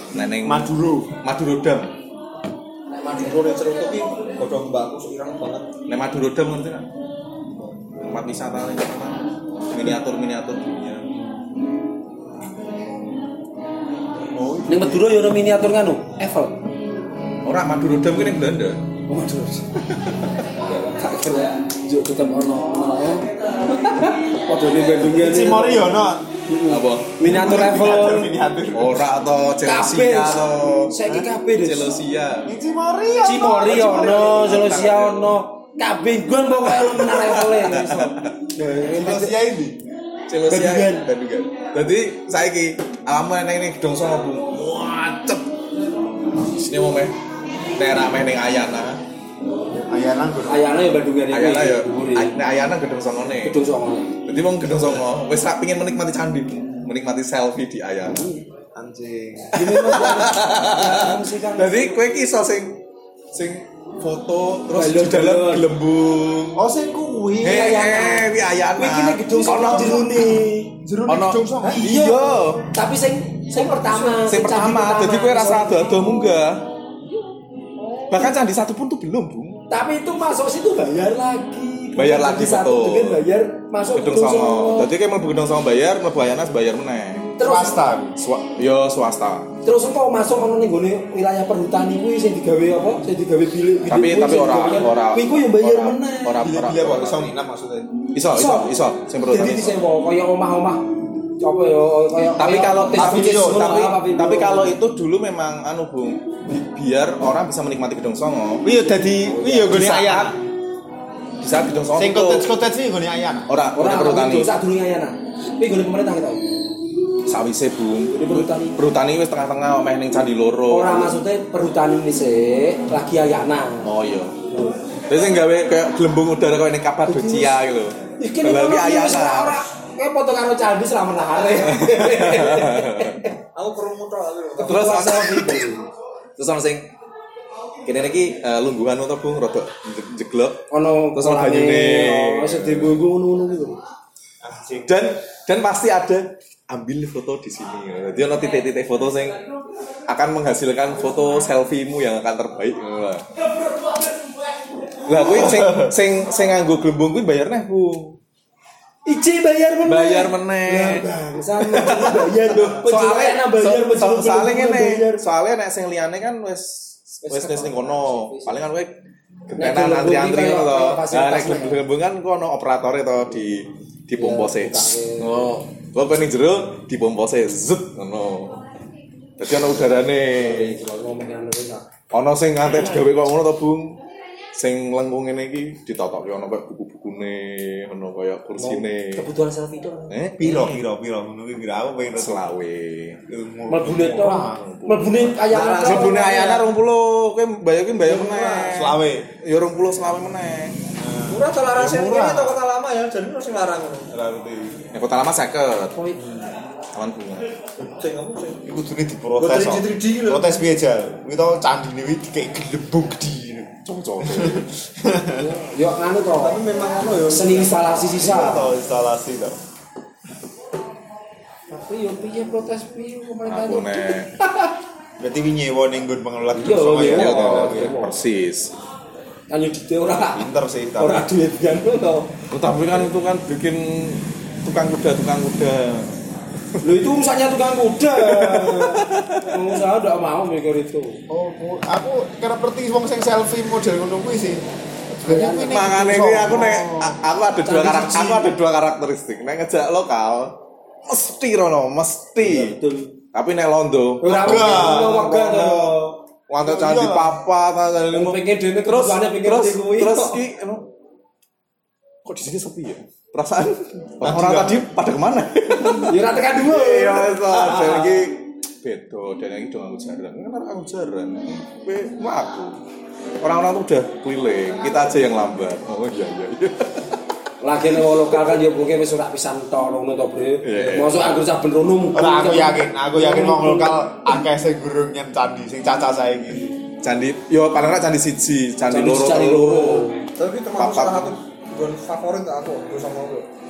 Neneng Maduro. Maduro Dam. Nek Maduro ning Cerutu ki godhong mbakku seirang banget. Nek Maduro Dam ngerti kan? Tempat wisata ning miniatur-miniatur dunia. Oh, ning Madura ya ono miniatur nganu, Eiffel. Ora Maduro Dam ki ning Belanda. Oh, Madura. Tak kira juk tetep ono ono. Padha ning Bandung ya. Cimori yo ono. Apa? Miniatur Eiffel. Miniatur. Ora atau Chelsea atau Saiki kabeh Des. Chelsea. Cimori yo. Cimori ono, Chelsea ono. Kabeh gon pokoke lu menara Eiffel. Chelsea ini. Chelsea Bandungan. Bandungan. Dadi saiki alamu nang ning Gedong Songo Bu. Wacep. Sini mau meh. Daerah meh ning Ayana. Ayana gue. Ayana ya Bandungan iki. Ayana ya. Nek Ayana Gedong Songone. Gedung Songo. Jadi wong Gedong Songo wis rak pengin menikmati candi, menikmati selfie di Ayana. Anjing. Jadi kowe iki iso sing sing foto terus di Balon-balon. dalam gelembung. Oh sing kuwi. Eh, eh, wi Ayana. Kuwi iki nek Gedung Songo jerone. Jerone Ono. Gedong Songo. Iya. Tapi sing sing pertama, Sing pertama, jadi kowe rasa ado-ado munggah. Bahkan candi satu pun tuh belum, Bung. Tapi itu masuk situ bayar lagi. Bayar lagi, Jadi satu betul. dengan bayar masuk Gedung Songo. Jadi kayak mlebu Gedung Songo bayar, mlebu Ayana bayar meneh. Terus Swasta. Swa- yo swasta. terus kok masuk ono ning gone wilayah perhutani kuwi sing digawe apa? Sing digawe bilik. Tapi tapi ora ora. Kuwi ku yo bayar ora- meneh. Ora ora. Bilik-bilik kok iso nginap maksudnya. Iso iso iso sing perlu Jadi disewa kaya omah-omah. Apa ya kaya tapi kaya kalau tes tapi, bisnis ngono, tapi, apa, Bim? tapi kalau itu dulu memang anu Bung bi- biar orang bisa menikmati Gedong Songo Iya dadi kuwi yo gone Di saat- Ayana. di saat Gedong Songo Sing itu kotes-kotes iki gone Ayana. ora ora ora perhutani itu sak durunge Ayana. Kuwi gone pemerintah kita. sawise Bung Gone perhutani. perhutani wis tengah-tengah omeh ning Candi Loro Ora maksudnya perhutani ini sih lagi Ayana. oh iya terus sing gawe kayak gelembung udara kayak ning Kapadocia gitu Iki nek lagi ora Ayana ora kayak foto karo candi selama menahare. Aku perlu muter aku. terus terus ana sing kene iki eh, lungguhan to Bung rada je- jeglok Ono Terus ono banyune. Oh, sedih bungku ngono-ngono gitu. dan dan pasti ada ambil foto di sini. Jadi ada titik-titik foto yang akan menghasilkan foto selfie-mu yang akan terbaik. Lah kuwi sing sing sing nganggo gelembung kuwi bayar neh, Bu. Iji bayar meneh. Bayar meneh. Bangsat bayar lho. Soalnya bayar so, soalnya ngene, bayar. soalnya nek sing liyane kan wis wis wis ning kono. Paling kan kowe Nek gentenan gelembung antri-antri iki ngono to. kayak Nah, fasilitas nek gelembung kan kono operatore to di di pompose. Oh, kok ning jero di pompose zut ngono. Dadi ana udarane. Ana sing ngantek digawe kok ngono to, Bung. Sing lengkung ngene iki ditotokke ana kaya buku-bukune, ana kaya kursine. Kebutuhan selfie itu. Eh, Piro piro piro ngono kuwi piro aku pengen selawe. Mlebune to. Mlebune Ayana. Mlebune Ayana rong puluh, kowe bayar ki bayar meneh. Selawe. Ya rong puluh selawe meneh. Murah to larang sing murah. ini to kota lama ya, jadi harus larang ngono. Ora ngerti. Ya kota lama seket. Aman bunga. Sing apa sing? Iku kudune diprotes. Buat tiga D gitu. Protes piye jal? Kuwi to candine kuwi dikek gelembung gedhi. Cocok. Yo nganu to. Tapi memang ngono ya. Seni instalasi sisa. To instalasi to. Tapi yo piye protes piye pemerintah Aku nek Berarti wi nyewa ning nggon pengelola Iya, Gedong Songo iya. ya. ya to iya. persis. Kan yo dite ora. Pinter sih tapi. Ora duit kan to. Tapi kan itu kan bikin tukang kuda tukang kuda. Loh itu urusannya tukang kuda. Pengusaha enggak mau mikir itu. Oh, ku- aku kira perti wong sing selfie model ngono kuwi sih. Sebenarnya kuwi ning Mangane Gedong kuwi aku Songo. nek a- aku ada dua karakter aku ada dua karakteristik. Nek ngejak lokal mesti rono, mesti. Betul. Tapi nek londo Ora Wegah. wegah to. Wonten candi Iya. papat ada Wong pengen dene terus kebutuhannya pengen terus di kuwi. terus ki anu, kok di sini sepi ya? Perasaan orang-orang tadi pada kemana? Ya ora tekan dua. Iya, dan lagi beda dan lagi dong aku jaran. Kan aku jaran. Kowe mah aku. Orang-orang tuh udah keliling, kita aja yang lambat. Oh iya iya. iya. Lagi nek lokal kan ya mungkin wis ora pisan to ngono to, Bre. Iya. Masuk anggur saben rono. Ora aku yakin, aku yakin wong lokal akeh sing gurung nyen candi sing caca saiki. Candi, yo paling ora candi siji, candi Candi loro. candi loro. Tapi termasuk Papat. salah satu gon favorit aku, gue sama gue.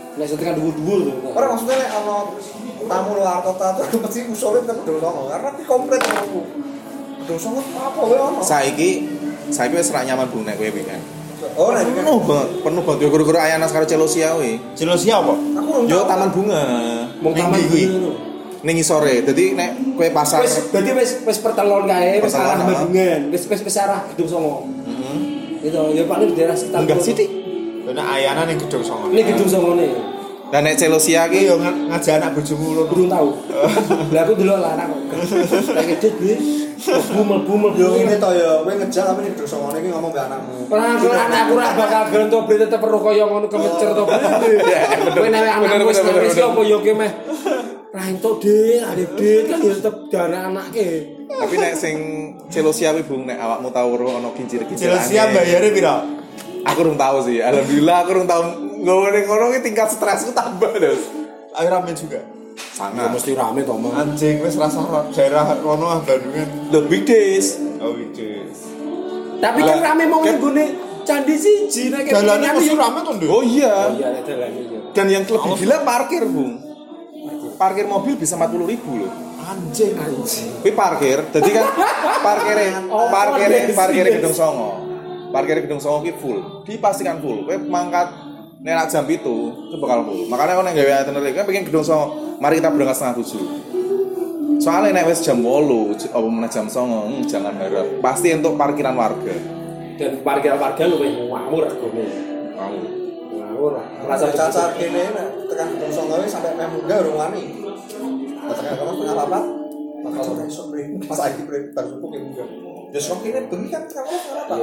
Nek setekan dhuwur-dhuwur lho. Ora maksudnya nek ana tamu luar kota tuh mesti usulin ke Gedung Songo karena di komplit aku. Gedung Songo apa wae ono. Saiki saiki wis ra nyaman Bung nek kowe weekend. Oh, nek weekend. Penuh banget, penuh banget yo guru-guru Ayanas karo Celosia kuwi. Celosia apa? Aku urung Yo tahu. taman bunga. Mung taman kuwi. ngono. Ning isore. Dadi nek kowe pasar Wis dadi wis wis pertelon kae, wis Pertelon, arah ah. Bandungan, wis wis wis arah Gedung Songo. Heeh. Itu ya paling di daerah sekitar. Enggak sih, Dik. Karena ayana ning Gedung Songo. Ini Gedung Songo nih. Dan nek Celosia ki Iki yo ngajak anak bojomu lho. Belum tahu. Lah aku delok lah anak kok. Kayak dit bli. Bumel-bumel Yo ini to ya, kowe ngejak tapi ning Gedung Songo iki ngomong mbek anakmu. Ora kok anakku ora bakal gelem to bli tetep perlu kaya ngono kemecer to bli. Kowe nek anakmu wis wis opo yo ki meh. Ra entuk Dik, adek Dik kan ya tetep dana anake. tapi nek sing Celosia kuwi Bung nek awakmu tau weruh ana kincir-kincir. Celosia bayare piro? Aku urung tahu sih. Alhamdulillah aku urung tahu nggowo ning kono ki tingkat stresku tambah, Dos. Ayo rame juga. Ya Sangat. mesti rame to, Mang. Anjing wis rasa daerah kono ah Bandungan. The big days. Oh wis. Tapi kan rame mau Kan- nggone candi siji nek kene Dalane kan mesti yo. rame to, Nduk. Oh iya. Oh iya nek dalane yo. Dan yang lebih gila parkir, Bung. Parkir mobil bisa empat puluh ribu loh. Anjing. Anjing. Kuwi parkir, jadi kan parkirnya, Oh, parkirnya, yes, parkirnya yes. Gedung Songo, parkirnya Gedung Songo ki full, dipastikan full. Kowe mangkat nenak jam itu, itu bakal full. Makanya orang yang gawe itinerary kan pengen Gedung Songo, mari kita berangkat setengah tujuh. Soalnya nek wis jam wolu, apa meneh jam songo, hmm, jangan harap. Pasti untuk parkiran warga. Dan parkiran warga lu wis ngawur regane. Mau. Ngawur. Rasa Rasa cacar kene nek tekan Gedung Songo wis sampai meh muda urung wani. Tekan kono punya apa? Bakal ora iso bre. Pas lagi bre baru subuh ki muda. Ya sok kene bengi kan tekan kono ora apa.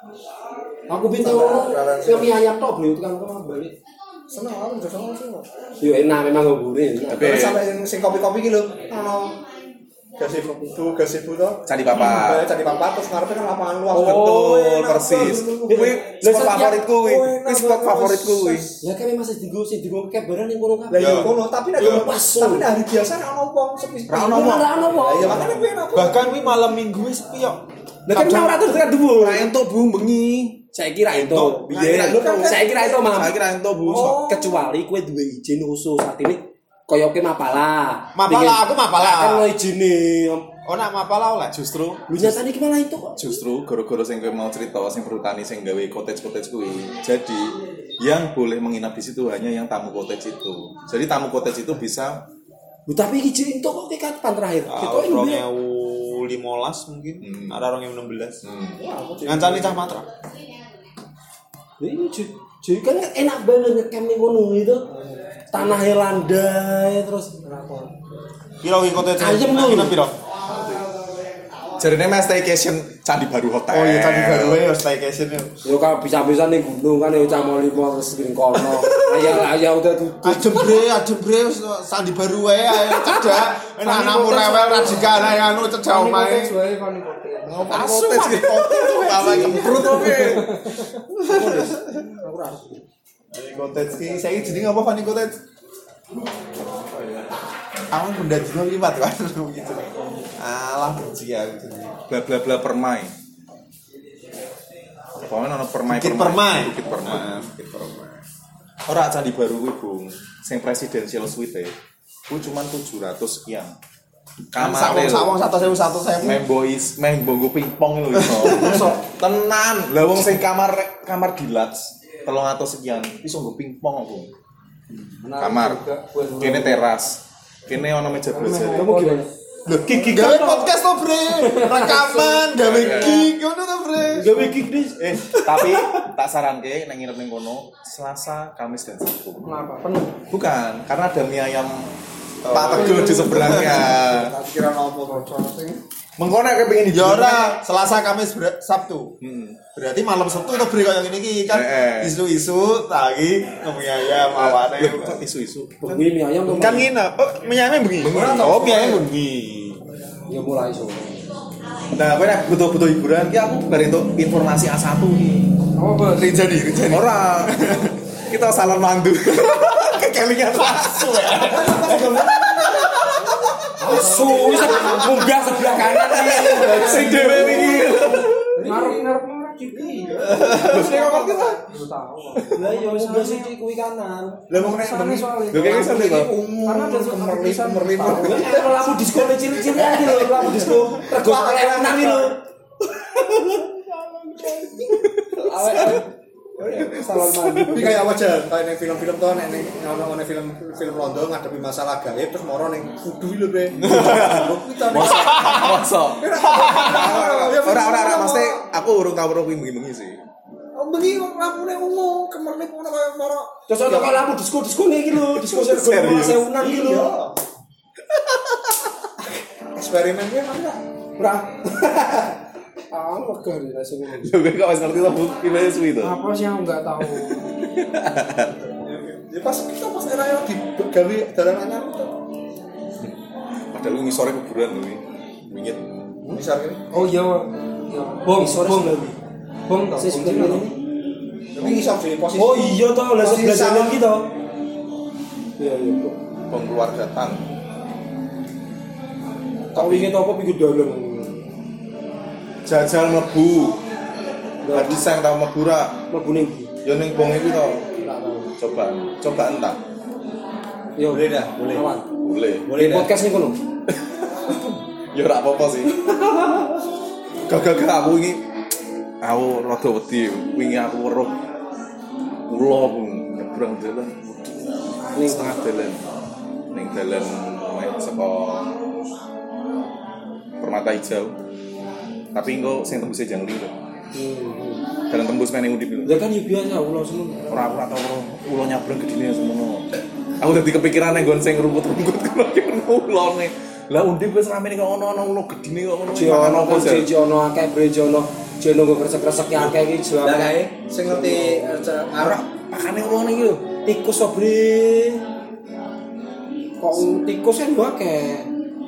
Aku pintu kami ayam tok beli tekan kono balik. Seneng aku Gedung Songo sih. Yo enak memang ngobure. Tapi sampai yang sing kopi-kopi ki lho, ono gazebo itu, gazebo to. Candi Papat. Candi Papat terus ngarepe kan lapangan luas. Oh, Betul, enak persis. banget. Kuwi Lah, spot setiap- favoritku kuwi. Oh, Kuwi enak spot banget. favoritku kuwi. Ya kan masih digo sing digo kebaran ning kono Lah kabeh. ya kono, tapi nek Yo, pas tapi nek hari biasa nek ono wong sepi. Ra ono wong. Ora ono wong. Lah iya makane kuwi enak. Bahkan kuwi malam Minggu wis sepi kok. Lah kan ora terus tekan dhuwur. Ora entuk Bung bengi. Saya kira itu. Biyen Lu kan saya kira itu, Mam. Saya kira entuk Bung. Oh. Kecuali kowe duwe izin khusus saat ini kaya ke Mapala. Mapala, aku Mapala. Kan lo izine. Oh nak mapala oleh. Justru Lu nyatane ki malah itu kok. justru gara-gara sing kowe mau cerita sing perhutani sing gawe cottage-cottage kuwi. Jadi yang boleh menginap di situ hanya yang tamu cottage itu. Jadi tamu cottage itu bisa Lu tapi iki jek entuk kok ke kapan terakhir? Kita Tahun ini dua ribu lima belas mungkin. Hmm. Ada dua ribu enam belas. hmm, Ngancani cah matra. Ini jadi kan enak banget ngecamp ning kono itu. Tanahnya landai terus Piro iki kote Ayem lho. Piro piro? jarine mas staycation Candi Baru Hotel. Oh iya tadi baru ya staycation ya. yo kan bisa-bisa ning gunung kan yo cah mau limo terus ning kono. Ayah ayah udah tutup. Ajem bre, ajem bre sandi baru wae ayo cedak. Enak anakmu rewel ra jika anak anu cedak omahe. Asu Cottage hotel Bawa kemprut oke. Fanny Cottage ki saiki jenenge apa Fanny Cottage? Awan benda dino liwat kan gitu. Alah benci aku. Bla bla bla permai. Pokoknya ono permai Bukit Permai. Bukit Permai. Nah, Bukit Permai. Ora Candi Baru kuwi, Bung. Sing presidential suite kuwi cuma tujuh ratus sekian. Kamar Sawong sawong satu sewu satu sewu. main boys, main bongo pingpong lho iso. Tenan. Lah wong sing kamar kamar deluxe telung atus sekian, iso nggo pingpong aku. Kamar. Kene teras. Kene ono meja belajar. Kamu gimana? Loh, gig gawe podcast to, Bre. Rekaman gawe gig ngono to, Bre. Gawe gig dis. Eh, tapi tak saranke nek nginep ning kono Selasa, Kamis dan Sabtu. Kenapa? Penuh. Bukan, karena ada mie ayam Pak Teguh di seberangnya. Tak kira nopo bocor sing. Mengko nek pengen di Ya ora, Selasa, Kamis, Ber- Sabtu. Hmm. Berarti malam Sabtu to, Bre koyo ngene iki kan Eh, eh. isu-isu lagi mie ayam awane. Loh, kok isu-isu. Bengi mie ayam Kan nginep. Oh, mie ayam bengi. Oh, mie ayam bengi. ya mulai sore. Nah, kowe nek butuh-butuh hiburan ki aku bare entuk informasi A satu iki. Apa? Rinjani, rinjani. Ora. Kita salon mandu. Kekelingan pasu ya. Asu, munggah sebelah kanan iki. Sing dhewe iki. Ngarep-ngarep Ciki. Terus nek kok ngerti ta? Lu tahu. Lah yo mobil siji kuwi kanan. Lah wong nek bengi soalnya. Lho kayak sana kok. Karena ada kemerlip tulisan kemerlip. Kalau lampu disco cilik-cilik iki lho, lampu disco. Rego enak iki lho. Awet salon mandi. Tapi kayak wajah kayak ning film-film tuh nek ning ono film film Londo ngadepi masalah gaib terus moro ning kudu lho be. Masa. Ora ora ora mesti aku urung tau ora kuwi bengi-bengi sih. Bengi lampune ungu kemerlip ngono kaya moro. Terus ono kok lampu disco-disco iki lho, disco sergo sewunan iki lho. Eksperimennya mana? Ora. Ah, wegah nih rasane. Lho kok wis ngerti to gimana suwi to. Apa sih yang enggak tahu? Ya pas kita pas era yang digawe dalan anyar itu. Padahal lu ngisore kuburan lho iki. Mingit. Misal ini. Oh iya. Iya. Bom, Sore bom. sebelah. Bom toh. Sing Bom sebelah toh. ini. Tapi iso di posisi. Oh iya toh, lah sebelah jalan iki toh. Iya iya, Bro. Bom keluarga Tan. Tak wingi apa pinggir dalan. Jajal mlebu. Tadi sang tau mlebu ra. Mlebu ning ndi? Ya ning bong iki to. Tak tahu. Coba, coba entah. Yo, Boleh dah, boleh. Awan. Boleh. Boleh Di dah. podcast nih kono. Ya ora apa-apa sih. Gagal-gagal aku ini aku rada wedi wingi aku weruh ula nyebrang dalan ning setengah dalan ning dalan mek saka Permata Hijau tapi engko sing tembuse jangli lho dalan tembus meneh undip lho Ya kan yo biasa ulo semono. ora ora tau ula nyabrang gedine semono aku dadi kepikiran nek nggon sing rumput-rumput kena ulane lah undip wis ramene kok ono-ono ulo gedine kok ngono Ji ono kok ji ono akeh brejo ono ji ono kresek-kresek akeh iki ji. Lah kae sing ngerti ora pakane ulane iki lho Tikus to, Bre. Kok tikus kan yo akeh.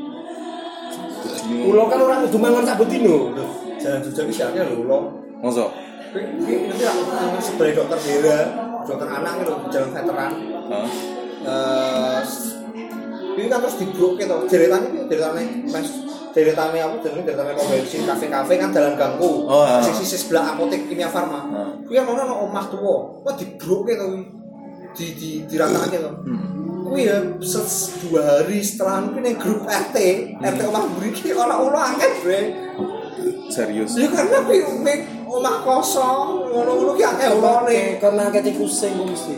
Ulo kan ora kudu mangan sak bedino. jalan jujur iki siake lho ulo. mosok Iki nanti aku sebagai dokter Dera, dokter anak gitu, jalan veteran. heeh Eh ini kan terus dibroke to. Deretan iki deretane Mas deretane apa jenenge deretane pom bensin kafe-kafe kan dalan ganggu. Oh, ha. Sing sisi sebelah apotek Kimia Farma. Ha. Kuwi kan ono omah tuwa. Wah dibroke to kuwi. Di di diratakake to. Kuwi ya se- dua hari setelah kuwi ning grup R T, R T omah mriki ana ulo akeh, Bre. serius Ya karena kuwi mek omah kosong, ngono-ngono ki akeh ulone. Karena akeh tikus sing kok mesti.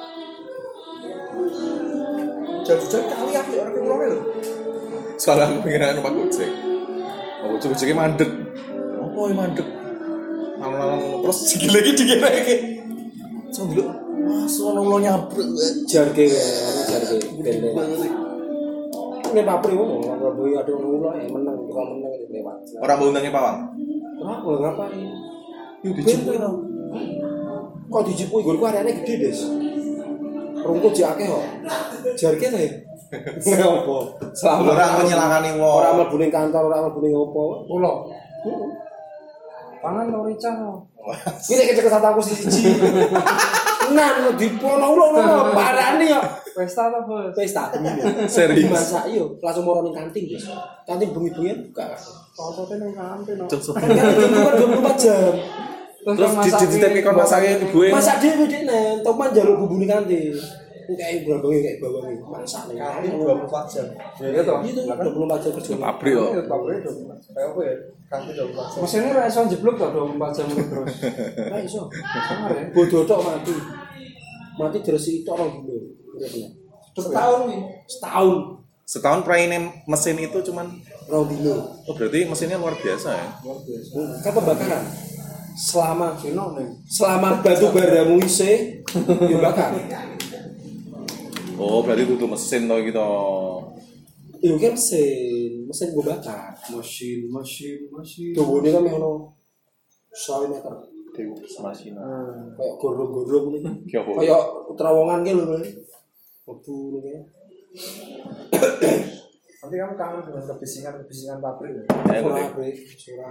Jujur kali aku ora ki ulone lho. soalnya aku pengen numpak gojek aku gojeknya mandek apa yang mandek malam-malam terus sikil lagi dikit lagi so dulu masuk orang lo nyabrek Jarge aku jarge bende. Nek papri ngono, ora boy ada ulo ya menang, ora menang iki lewat. orang mau undangnya pawang Ora kok ngapain? yuk dijemput dong Kok dijipui golku areane gede, Des. Rungkut jek akeh kok. Jarke ta ya? Ngopo? Selama orang menyelakani wong ora mlebu ning kantor, ora mlebu ning opo. Ulo. Pangan to rica to. Iki nek kecek aku siji. Nan dipono ulo ngono, parani kok. Pesta to, Bos? Pesta temen. Serius? Masak yo, langsung moro ning kantin, Des. Kantin bengi-bengi buka. Fotote ning kantin. no. Kan kantin buka dua puluh empat jam. terus dititipin kon masaknya ibu Masak dhewe dekne, toman njaluk bumbu ning kantin. Kayak bawang kayak bawang masak ning Kantin kantin dua puluh empat jam. Iya toh. Itu dua puluh empat jam kerja. pabrik kok Pabrik to. Kayak apa ya? Kantin dua puluh empat jam. Mesinnya ra iso jeblok to dua puluh empat jam terus. Ora iso. Sangar ya. Bodoh tok mati. Mati diresiki tok rong dino. Uripnya. Setahun nih. Setahun setahun praine mesin itu cuman rong dino. oh berarti mesinnya luar biasa ya Kan pembakaran. Selama selama batu baramu isih yo bakar. oh berarti itu mesin toh gitu Yo kan mesin, mesin gue bakar. Mesin, mesin, mesin. Dawane kan ono seratus meter. dewa semasina Kayak gorong-gorong ngono. ki apa Kayak terowongan ki lho. Metu ngene. Nanti kamu kangen dengan kebisingan-kebisingan pabrik. Ya? ya Ora boleh break, ora.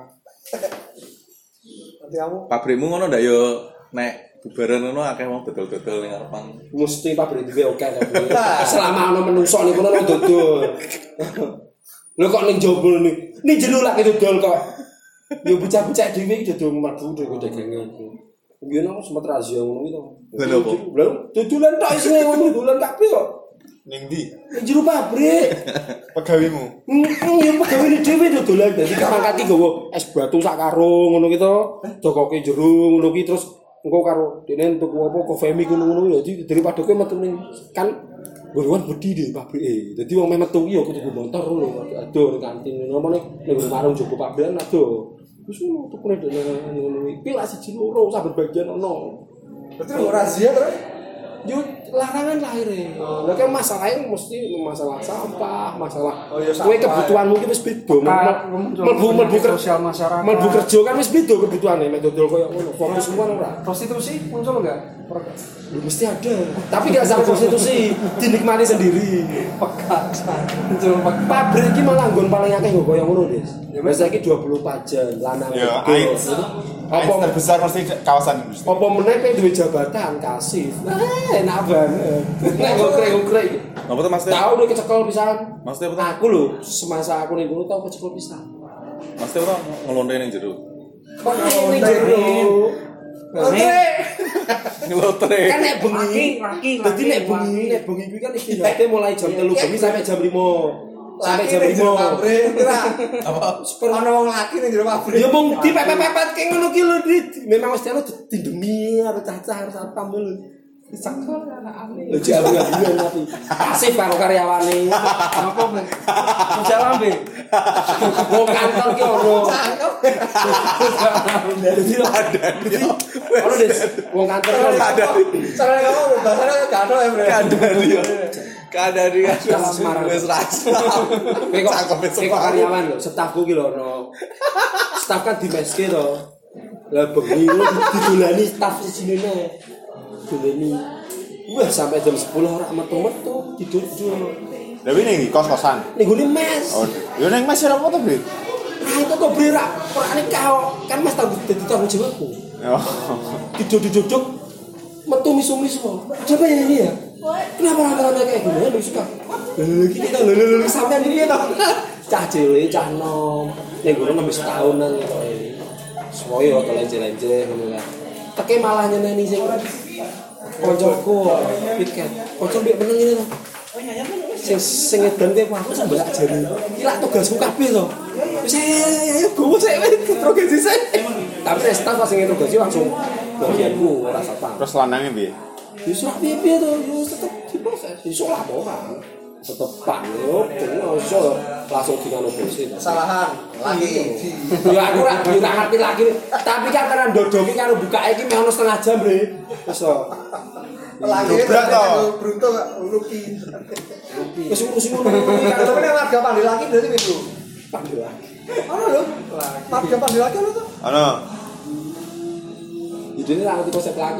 Nanti kamu pabrikmu ngono ndak yo nek bubaran ngono akeh wong dodol-dodol ning ngarepan Mesti pabrik dhewe oke ta. Selama ono menungso niku ono dodol. Lho kok ning jaba ni. Ning jero lak dodol kok. Yo bocah-bocah dhewe iki dodol mlebu dhewe dagangan. Biyen aku sempat razia ngono iki to. Lha opo? Lha dodolan tok isine ngono dodolan kabeh kok. Ning ndi? Ning jero pabrik. Pegawimu. Heeh, yo pegawene dhewe dodolan dadi karangkati nggawa es batu sak karung ngono ki to. Dokoke jero ngono ki terus engko karo dene tuku apa kofemi ngono-ngono dadi daripada kowe metu ning kan goruan bedi di pabrike. Dadi wong meh metu ki yo kudu motor lho, adoh ning kantin ngono ning warung Joko pabrikan adoh. Wis ngono tukune dene ngono iki lak siji loro saben bagian ono. Berarti mau razia terus? Yo larangan lahire. Lah kan masalahnya mesti masalah sampah, masalah Oh, ya, kowe sampah. kebutuhanmu ki wis beda. Mlebu mlebu sosial masyarakat. Mlebu kerja kan wis beda kebutuhane mek dodol koyo ngono. Fokus semua ora. Prostitusi muncul enggak? Ya, mesti ada. Tapi gak sampai prostitusi, dinikmati sendiri. Pekasan. Muncul pek- Pabrik iki malah nggon paling akeh nggo koyo ngono, Des. Ya wis saiki dua puluh empat jam lanang. Ya, wedok. AIDS. Apa AIDS terbesar pasti kawasan industri. apa meneh kowe duwe jabatan kasih. Ah, enak banget. Nek ngkrek-ngkrek. Apa tuh Mas? Tahu udah kecekel pisan. Maksudnya apa tuh? Aku lho, semasa aku ning kono tau kecekel pisan. Maksudnya apa? Ngelonde ning jero. Kok ning jero? Ngelotre. Kan nek bengi, Laki, laki, dadi nek laki. bengi, nek bengi kuwi kan istirahatnya mulai jam tiga bengi sampai jam lima. Sampai jam lima. pabrik kira. Apa? Ono wong laki ning jero pabrik. Ya mung dipepet-pepet kayak ngono ki lho, Dit. Memang mesti anu dindemi karo cacah karo satpam lho. Disangkal anak-anak. Lho jalu ya tapi pasif karo karyawane. Apa Bang? Muncul lambe. Wong kantor ki ono. Dadi ada. Ono Des, wong kantor ki ono. Soalnya kamu bahasanya gak ada ya, Bre. Kadari ya. Kadari kan. Dalam Semarang. Wis rasa. Kowe kok kowe kok karyawan lho, stafku ki lho ono. Staf kan di meske to. Lah bengi lho didolani staf sijine. Dolani. Wah, sampai jam sepuluh ora metu-metu didudul. Tapi ning kos-kosan. Ning gone mes. Oh, yo ning Mas ora apa-apa, Bri. Nah, itu kok berak. Ora nek kau kan Mas tanggung dadi tanggung jawabku. Oh. Diduduk-duduk metu misu-misu. Coba ya ini ya. Kenapa rame-rame kayak gini? Lu suka. Lho iki kita lho lho lho sampean iki to. Cah cilik, cah nom. Ning gone nembe setahunan kok. Semoyo to lenje-lenje ngono kan. Teke malah nyeneni sing koncoku piket. Konco mbek meneng ngene to. Sing sing edan kowe aku sampe lak jari. Iki lak tugasku kabeh to. Wis ayo gowo sik wis progresi sik. Tapi nek staff sing interogasi langsung bagianku ora satpam. Terus lanangnya piye? Iso piye-piye to, yo tetep diproses. Iso laporan. Tetep pak yo, kene iso langsung dikano bose. Kesalahan lagi. Ya aku ora yo ora ngerti lagi. Tapi kan karena ndodongi karo bukake iki meh ono setengah jam, Bre. Iso. Lagi Dobrak to. Brunto ruki. Wis ngurusi ngono. Tapi nek warga Pandi lagi berarti itu. Panggil lagi. Ono lho. Warga Pandi lagi ono to. Ono. Idene ra ngerti konsep lagi.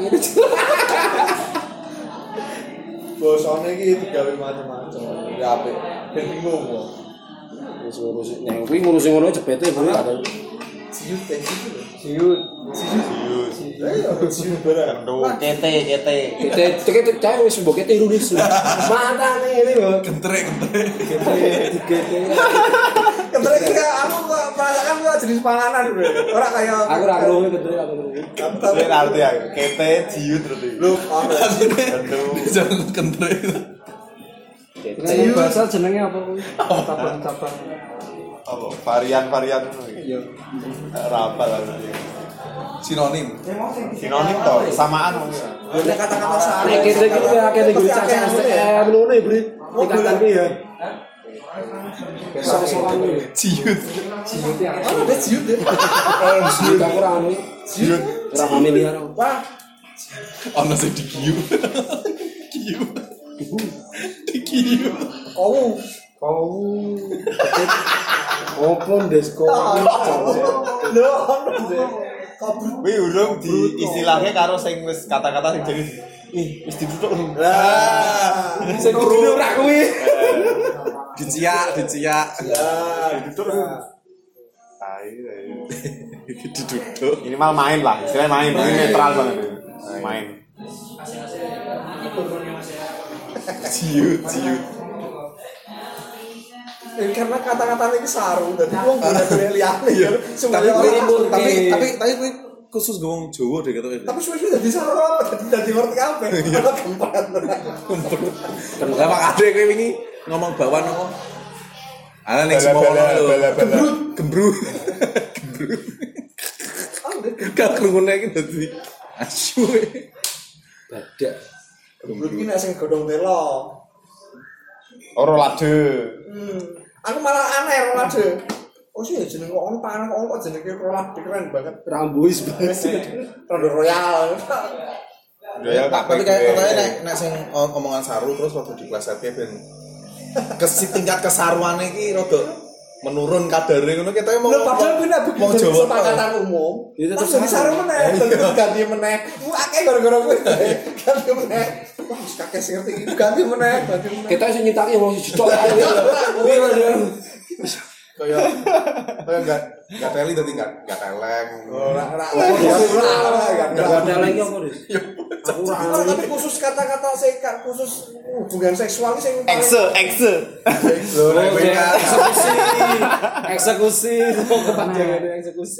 Bosone iki digawe macam-macam. Ya apik. Ben bingung kok. Wis ngurusi nek kuwi ngurusi ngono jebete kuwi ada. Siut teh siut. Siut. Sius. Ayo siut barang. Kete, kete. Kita kita cah wis mbok kete ironis. Mantane ngene lho. Gentrek gentrek. Kete dikete. Kebetulan kita aku merasakan gua jenis panganan bro. Ora kayak Aku ra krungu kete aku krungu. tapi Saya ngerti ya. Kete, jiut berarti. lu ono Jangan gentrek. Jenenge bahasa jenenge apa kuwi? Cabang-cabang. Apa? Varian-varian ngono iki. Iya. Apa lah. Sinonim. Sinonim to, kesamaan mungkin. nek kata-kata sari. Nek kete iki kowe akeh ning Pasti caca akeh S T ya. M ngono ya, Bri. Tingkatan iki ya. Besok-besokan iki. Ciut. Siut ya. Ono ada siut deh. Ciut aku ora anu. Jiut. Ora familiar. Wah, Ono sing digiu. Giu. Digiu. kau Kau. Opo desko. lho ono deh. Kabur. Wih, urung di istilahnya karo sing wis kata-kata sing jadi ih, wis ditutuk. Lah, Sing kudu ora kuwi. Diciak, diciak. lah ditutur. Tai. Diduduk. Ini mal main lah, istilahnya main, ini netral banget. Main. Ciut, ciut. Eh, karena kata-kata ini sarung dadi wong boleh-boleh liyane ya. Tapi Semuanya orang tapi tapi tapi tapi kuwi khusus ngomong Jawa deh gitu. tapi suwe-suwe dadi sarung apa dadi dadi ngerti kabeh. Ora kempet. Lah mak ade kowe wingi ngomong bawan apa? Ana ning semua ono lho. Gembrut, gembrut. Gembrut. Gak krungune iki dadi asu. Badak. Gembrut iki nek sing godhong telo. Ora lade. Hmm. Aku malah aneh rolade. Oh sih jeneng kok ono panah kok ono kok jenenge rolade keren banget. Rambuis banget. Rondo Royal. Ya tak Tapi kayak katanya nek nek sing omongan saru terus waktu di kelas satu ben kesi tingkat kesaruane iki rada menurun kadare ngono kita mau Lho padahal bener mau begitu Jawa kesepakatan umum. Itu Terus tetep jadi sarung meneh, terus ganti meneh. Ku akeh gara-gara kuwi. Ganti meneh. Wah, wis kakek sing ngerti iki ganti meneh, ganti meneh. Kita sing nyitaki wong siji cok. Iya, kayak kayak enggak enggak teli tadi enggak enggak teleng. Ora ora ora. Enggak ada lagi apa, Dis? Aku ora Ora tapi khusus kata-kata sekat khusus hubungan seksual iki sing Exe, exe. Lho nek kowe kan eksekusi. Eksekusi, kok kepanjangan eksekusi.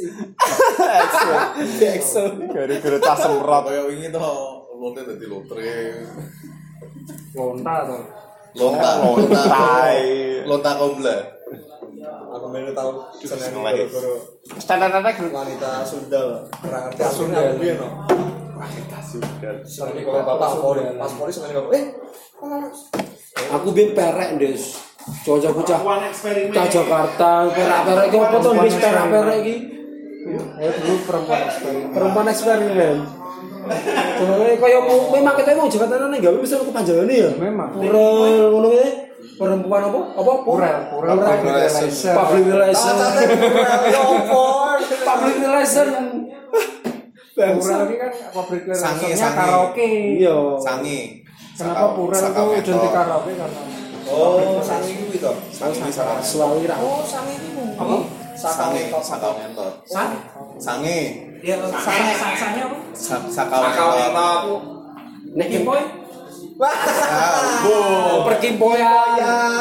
Ekso. Gara-gara tas semprot. kayak wingi to lonte dadi lotre. Lonta to. Lonta lonta. Tai. Lonta kobla. aku melu tahu seneng Lagi. guru Standar-standar wanita Sunda ora ngerti asline aku piye no. Wanita sudah. Seneng kalau bapak Polri, pas Polri seneng bapak. Eh, Aku bin perek, Des. Cocok bocah. Cah Jakarta, perek-perek iki opo to, Des, perek-perek iki? ya dulu perempuan eksperimen. Perempuan eksperimen. Soalnya kaya memang kita mau Jakarta nang gawe wis ono kepanjangane ya. Memang. Purel ngono kuwi. Perempuan apa? Apa? Purel, purel, Purel. public relation. Public relation. ya opo? Public relation. Purel ini kan public Sange, relationnya sange. karaoke. Iya. Sange. Kenapa purel itu identik karaoke karena Oh, sange kuwi to. Sange sange. Suami ra. Oh, sange iku. apa? Sange sakau ngentot. Sange. Sange. Ya, sange, sange apa? Sa- Sakau ngentot. Nek kimpoy. Wah, Ah, Perkimpoyan.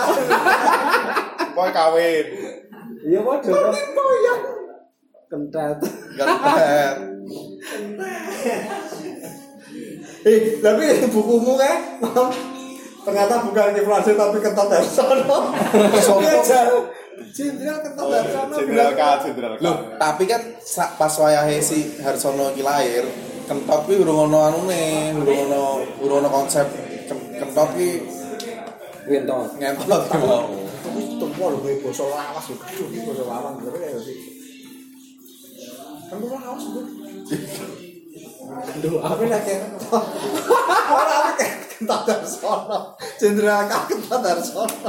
boy kawin. Iya padha. Perkimpoyan. Kentet. Gantet. Eh, tapi bukumu kan ternyata bukan inflasi tapi kentot Darsono. Sopo? Jenderal kentot Darsono. Jenderal K, Jenderal K. Loh, tapi kan sa- pas wayahe si Harsono iki lahir, kentot kuwi urung ono anune, urung ono urung ono konsep ken- kentot ki Winton. ngentot ki mau. Tempo lho gue basa lawas lho, gedhe iki basa lawas bener ya sih. Kan lawas lho. Aduh, apa nek ora apa kentot Darsono. Jenderal K kentot Darsono.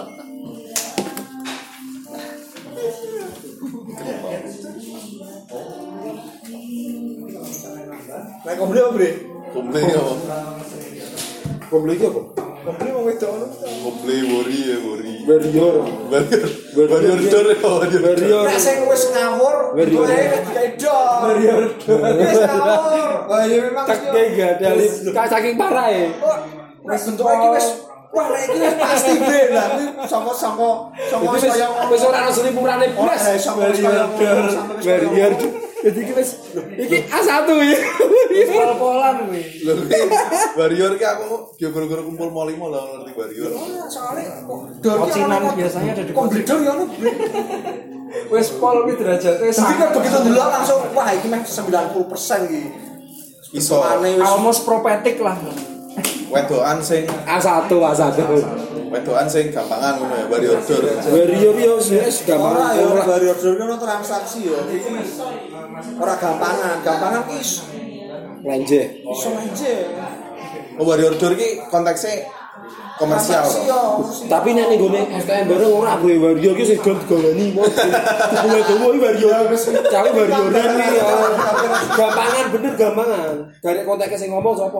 Nek komble apa, Bre? Komple yo. Komble iki apa? Komble wong wedok ngono. Komple wori ya wori. Warrior. Warrior. Warrior dor ya warrior. Warrior. Nek sing wis ngawur, Warrior. kowe dikai dor. Warrior. Wis ngawur. Wah, ya memang Tak kayak gak ada kak saking parah ya. wis bentuk iki wis wah lek iki wis pasti bre lah. Iki saka-saka saka Itu wis wis kaya wis ora ono selipurane blas. Oh, eh, sama wis kaya Warrior. Warrior. Jadi iki wis iki A satu ya. Pol-polan kuwi. Lho ki warrior ki aku yo gara-gara kumpul mau limo lah ngerti warrior. soalnya dor Kocinan biasanya ada di komble dor ya ono bre. Wis pol kuwi derajate Jadi kan sangat begitu dulu langsung wah iki meh sembilan puluh persen iki. Iso Bentukane wis almost prophetic lah. wedokan sing A satu A satu. wedokan sing gampangan ngono ya warrior dor. Warrior yo wis gampang. ora ya warrior dor ki ono transaksi ya. Iki ora gampangan, gampangan ki iso Lenje. iso aja. Oh warrior dor ki konteksnya komersial Transaksi to. ya. Tapi nek ning gone S K M bareng ora gue warrior ki sing gol-golani mau. Kuwi dowo iki warrior wis cawe warrioran iki ya. Gampangan bener gampangan. Garek konteknya sing ngomong sapa?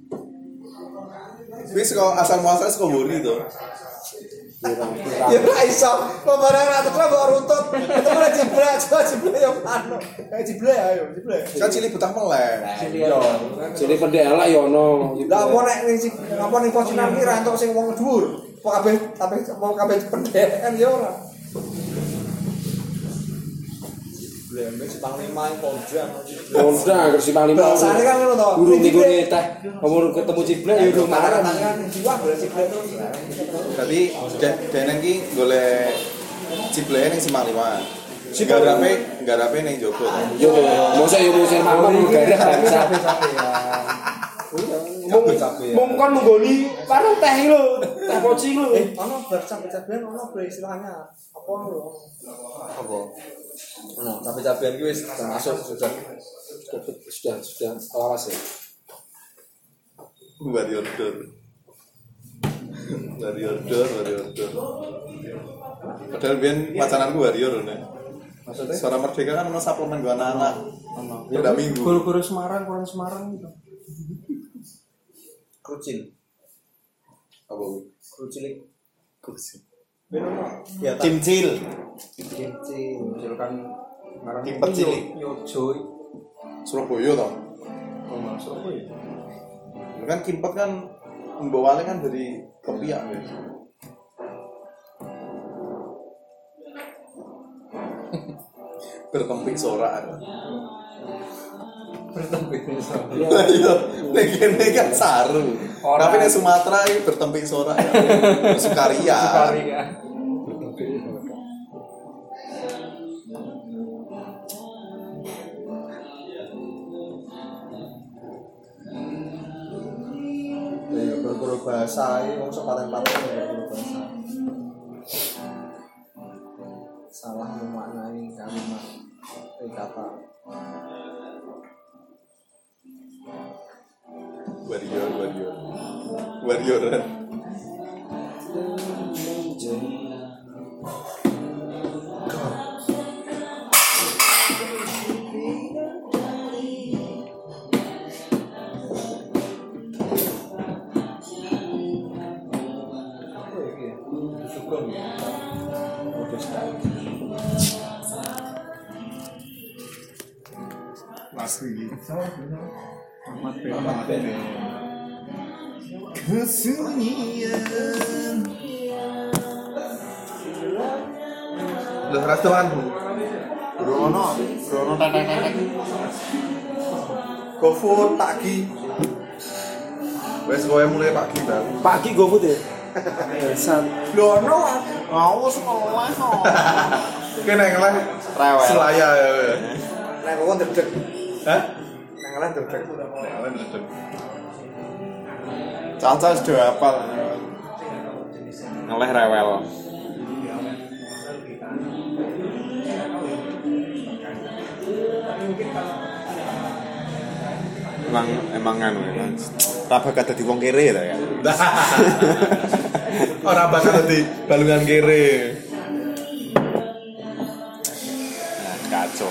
Wis kok asal muasal saka wori to. Ya ora iso. Kok barang ra terus kok runtut. Itu ora jibrak, coba jibrak yo anu. Kayak jibrak ayo, jibrak. Kan cilik betah meleh. Yo. Jadi pendek elek yo ono. Lah apa nek ning sing apa ning pocinan ki ra entuk sing wong dhuwur. Apa kabeh tapi apa kabeh pendekan yo ora. Ciblek ambek si Panglima Polda. Polda ke si Panglima. Bahasane kan ngono to. Guru niku teh omong ketemu Ciblek ya rumah Marah kan jiwa golek Ciblek terus. Berarti dene iki golek Ciblek ning Simpang lima. Garape garape ning jogo to. Yo, mosok yo musim malam garap bangsa. Mung mung kon nggoni warung teh lho, teh poci lho. Eh, ono bar cabe-cabean ono bre istilahnya. Apa lho? Apa? Ono cabe-cabean ki wis termasuk sudah Sudah sudah lawas ya. Warrior door. Warrior door, warrior door. Padahal biyen wacananku warrior nih. maksudnya Suara Merdeka kan ono suplemen gua anak-anak. Ono. Pada minggu. Guru-guru Semarang, kurang Semarang gitu. krucil. Apa kuwi? Krucilik. Kursi. Ben ono ya Cimcil. Kimchi. Misalkan Semarang Timpet cilik. Yojo. Surabaya toh. Oh, masuk apa ya? Kan kimpet kan mbawale kan dari kepiak ya. Bertempik sorak. Bertempik misalnya. Lah iya, nek kene kan saru. Orang. Tapi nek Sumatera iki bertempik sorak ya. Sukaria. Sekali ya. Ya guru-guru bahasa iki wong sepaten-paten guru bahasa. Salah memaknai kalimat eh kata. Warrior, warrior. Warrioran. Asli. Ahmad Ben. Kesunyian. Udah restoran bu. Brono, Brono tetek-tetek. GoFood pagi. Wes kowe mulai pagi bang. Pagi GoFood ya. San. Brono, aku sekolah kok. Kene ngeleh Rewel. Selaya ya. Nek kok ndedeg. Hah? Nek ngeleh ndedeg. Ngeleh ndedeg. Caca sudah hafal. Ngeleh rewel. Emang emang anu ya. Raba kata di wong kere ta ya. Ora bakal di balungan kere. Nah, kacau.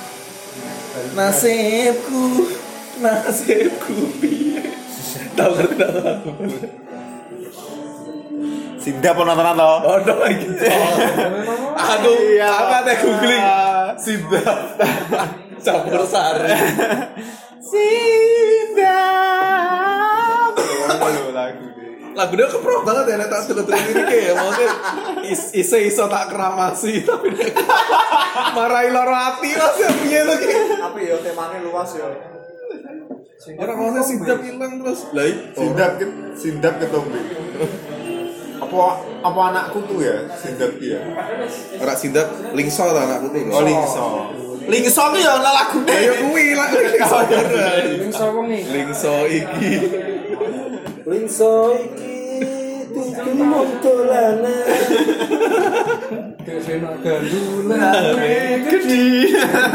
Nasibku, nasibku piye. Tahu ngerti tahu aku. Sinda penontonan to. Oh, no iki. Aku aku ate googling Sidap. Campur sari. Sinda. Lagu Lagu dia keprok banget ya nek tak delok ini kayak maksudnya is- iso-iso tak keramasi tapi nek marahi loro ati Mas ya piye to ki. Tapi ya temane luas ya. Ora maksudnya Sidap ilang terus. Lah Sindap ke Sindap ketombe. Apa apa anakku tuh ya Sindap ya. ora Sidap lingso ta anakku tuh. Oh Lingso. Lingso ki ya ana lagune. Ayo kuwi lagu lingso. Ini siapa nih? Lingso iki. Lingso iki tuku mong dolanan. Desena gandulan. Gede.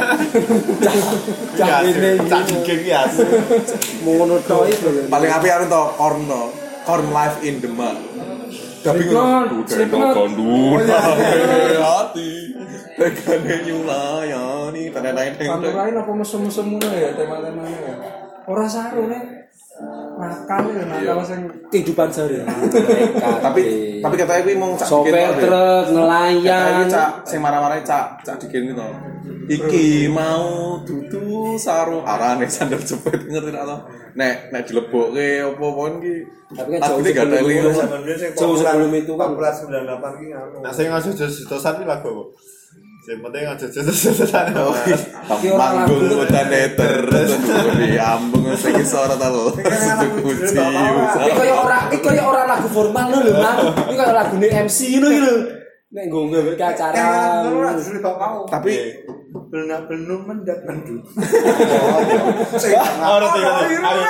Cakene Cak dikek ya. ngono tok iki. Paling apik anu to corn to. Corn live in the mud. Tapi Slipknot, Slipknot. gondul. Hati. Tegane nyulayani tanah-tanah Kantor lain apa mesum-mesum ngono ya tema-temanya ya. Ora saru nek nakal ya nakal sing Kehidupan sehari. Tapi tapi katanya kuwi mung cak sopir dikene to. truk Katanya nelayan. cak sing marah-marah cak cak dikene to. Iki mau dudu saru arane sandal jepit ngerti nek to. Nek nek dilebokke apa-apa iki. Tapi kan Lagu jauh ini gak ada sebelum link. Zaman dulu sing Jauh sebelum itu kan. empat belas sembilan puluh delapan ki anu. Nah, saya ngasih jos-josan iki lagu apa? Sing penting aja jajal-jajalan. Manggung utane terus diambung sing iso ora ta lho. Kunci. Iki koyo ora iki koyo ora lagu formal lho lho, Mang. Iki koyo lagune M C ngono iki lho. Nek nggo nggawe acara. Ora disuruh bapak. Tapi belum belum mendak mendut. Ora tinggal.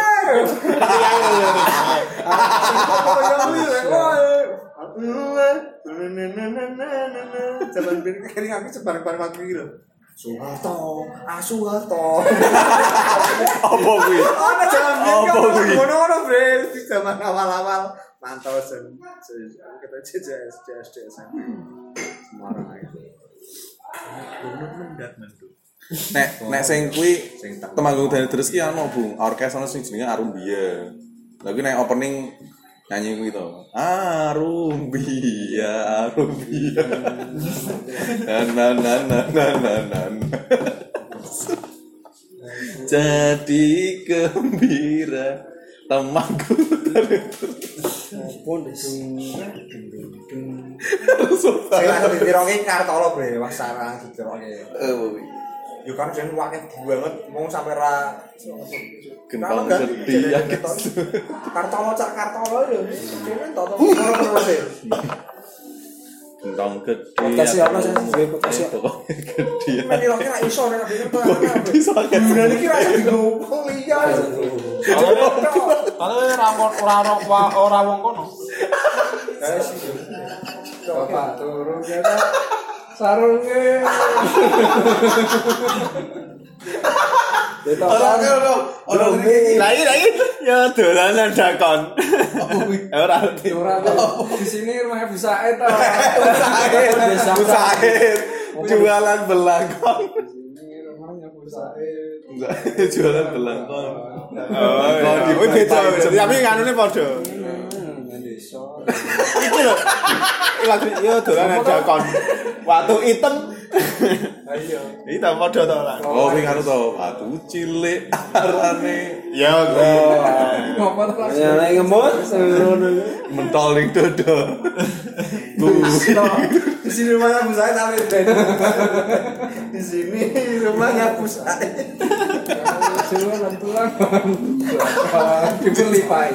Zaman ben kene aku sebareng-bareng aku iki lho. Soeharto, Asuharto. apa kuwi? Ana zaman Apa kuwi? ngono-ngono bre di zaman awal-awal mantau sen. Aku kata C J S C S D S M P. Semarang aja. Belum mendak mendut. Nek nek sing kuwi Temanggung Dani terus ki ana Bu, orkes ana sing jenenge Arumbia. Lah kuwi nek opening nyanyi kuwi to. Arumbia, Arumbia. Na na na na na na. Jadi gembira Temanggung Dani terus. Pun des. Saya lagi ditiroki Kartolo bre, Mas Sarang ditiroki. Eh kuwi. Yo kan jen wakil banget mau sampai ra Gentong sedih ya guys. Kartolo cak Kartolo yo. Dene toto ora terus e. Gentong gede. Podcast ya apa sih? Gue podcast ya. Gede. Men kira kira iso nek denger to. Bisa kan. Bulan iki ra digo kuliah. Kalau ora ora ora wong kono. Guys, Bapak turun kita sarungnya. Itu Ora ora ora iki. Lah iki lah iki ya dolanan dakon. Ora ngerti. Ora di sini rumahnya Bu Said ta. Bu Said. Jualan belangkon. Ini rumahnya Bu Said. Jualan belangkon. Oh, di beda. Tapi nganune padha. Desa. Iki lho. Lagi yo dolanan dakon. Watu item. Ayo. Iki ta padha to lah. Oh, kuwi ngono to. Watu cilik arane. Ya kuwi. Ngopo to langsung. ya nek ngemut ngono. Mentol ning dodo. di sini rumahnya Bu Said sampai di sini rumahnya Bu Said. Jualan tulang. Dibeli Pak.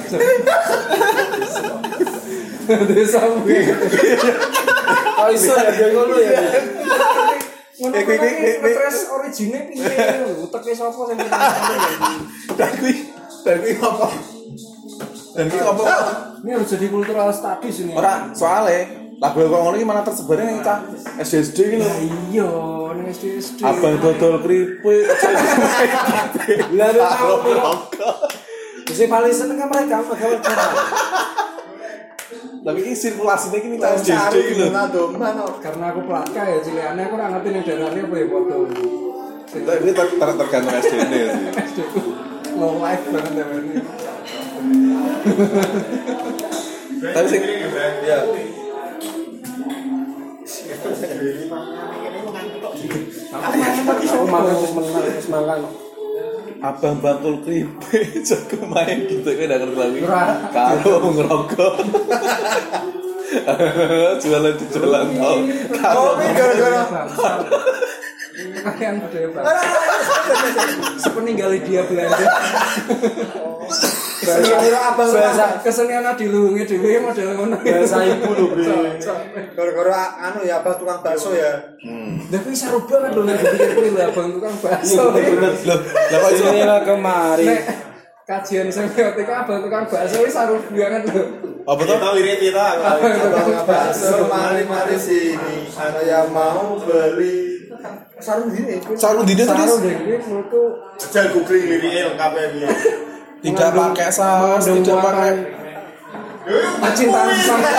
Desa kuwi. Oh iso ya dia ngono ya. Ngono kuwi terus origine piye? Uteke sapa sing Dan kuwi dan kuwi apa? Dan kuwi apa? Ini harus jadi cultural studies ini. Ora, soalnya lagu kok ngono iki malah tersebarnya ning cah S D S D iki lho. Iya, ning S D S D. Abang dodol keripik. Lah Mesti paling seneng kan mereka mereka. Tapi ini sirkulasinya ini cah S D S D iki lho. Karena aku pelaka ya cilikane aku ora ngerti ning daerahnya apa ya foto. Ini ter- ter- tergantung S D N sih. S D ku low life banget ya ini. Tapi sing ya Aku makan terus menang terus makan. abang bakul keripik jago main gitu kan udah ngerti lagi. Ora. Kalau ngerokok. Jualan di jalan tol. Kalau gara-gara Yang budaya bangsa. Sepeninggal dia Belanda. Bahasa kesenian dilungi dhewe model ngono. Bahasa ibu lho, Bre. gara-gara anu ya abang tukang bakso ya. Lah kuwi saru banget lho nek dipikir kuwi lho abang tukang bakso. Loh, lah kok iso Sini lah kemari. Nek kajian semiotika abang tukang bakso wis saru banget lho. apa tuh? Kita lirik kita. Abang bakso mari-mari sini. Saya mau beli sarung gini. Sarung dine Saru terus deh kuwi menurutku Jal googling liriknya lengkap ya piye. tidak pakai saus, tidak pakai percintaan sama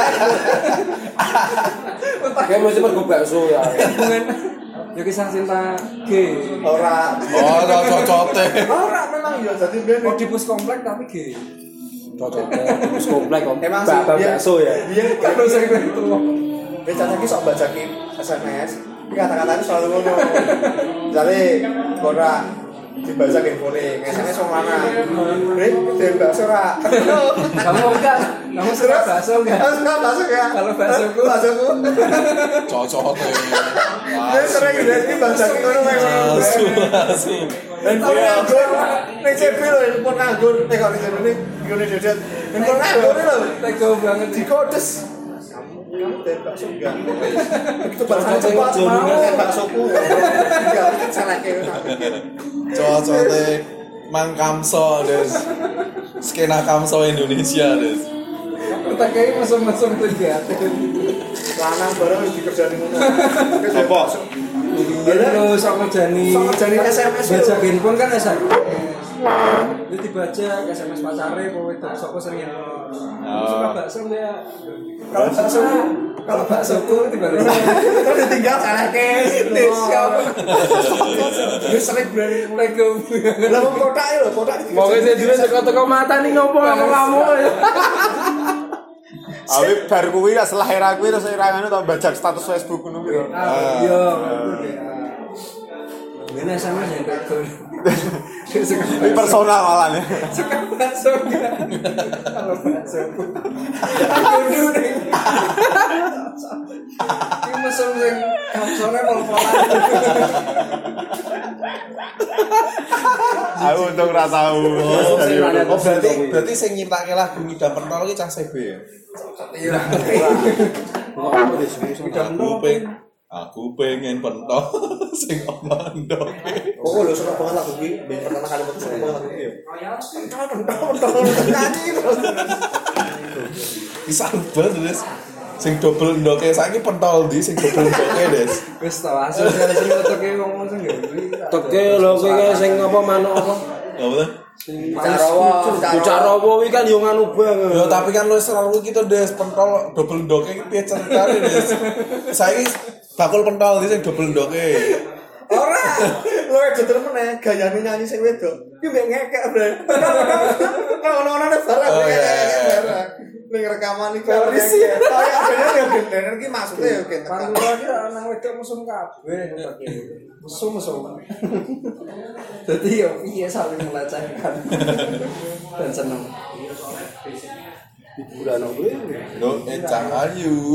Kayak mesti mergo bakso ya. hubungan ya kisah cinta gay. Ora. oh cocote. Ora memang ya dadi ben. Oedipus komplek tapi gay. Cocoknya terus komplek kok. Emang sih Bapak dia- bakso ya. Dia Terus sing itu. Becanya ki sok bacakin S M S. Tapi kata-katanya selalu ngono. Jadi ora dibaca ke kuning, S M S wong lanang. Bre, den bakso ora. Kamu enggak? Kamu suka bakso enggak? Bakso bakso ya. Kalau baksoku- baksoku. Cocote. Dia sering jadi bangsa ngono memang. Asu, asu. Handphone nganggur. Ning C P lho handphone nganggur. Nek kok C P ini ngene dedet. Handphone nganggur lho. Tega banget Di kodes. Kamu dari bakso enggak? Itu bakso cepat mau baksoku. Enggak, itu salah kayak Cowok-cowok Mang Kamso des. Skena Kamso Indonesia des. Pertanyaan mesum-mesum tuh ya. lanang bareng dikerjani ngono. Apa? Iya lo sama Jani. Sama Jani S M S. Baca handphone kan S M S. Itu dibaca S M S pacare kowe itu sapa sering. Suka bakso ya. Kalau bakso kalau baksoku tiba-tiba terus ditinggal salahke. Wis sering berani mulai ke. Lah wong kotak lho, kotak. Mau ngene dhewe teko-teko mata ning ngopo kamu. Awi bar kuwi setelah era kuwi terus era ngono to bajak status Facebook ngono kuwi. Ah, iya. Ngene S M S ya kok. Ini personal malah ya. Suka bakso enggak? Kalau bakso. Aku dulu. Ini mesum sing kapsone pol-polan. Aku untung ora tahu. Oh berarti berarti sing nyiptake lagu Ngidam Pentol iki cah C B ya. Iya. Aku pengen aku pengen pentol sing ono ndoke. Oh lho suka banget lagu iki. Pertama kali metu suka banget lagu iki. Pentol pentol pentol nyanyi terus. Bisa banget Des. Sing double ndoke saiki pentol di sing double ndoke Des. Wis to asal sing teke ngomong sing nggih. Teke lho kowe sing apa manuk apa? Apa tuh? Bicarawa, bicarawa iki kan yo nganu banget. Ya tapi kan lu selalu gitu Des pentol double ndoke iki piye ceritane Des. Saiki bakul pentol di sing double ndoke. Ora. Lho jejer meneh gayane nyanyi sing wedok. Ki mbek ngekek, Bre. Ono-ono barang. Ning rekaman iki kaya kaya ya bener iki maksudnya ya gitu. Pantura ki nang wedok mesum kabeh. Mesum-mesum. Dadi yo piye saling melecehkan. Dan seneng. Hiburan opo? Lo encang ayu.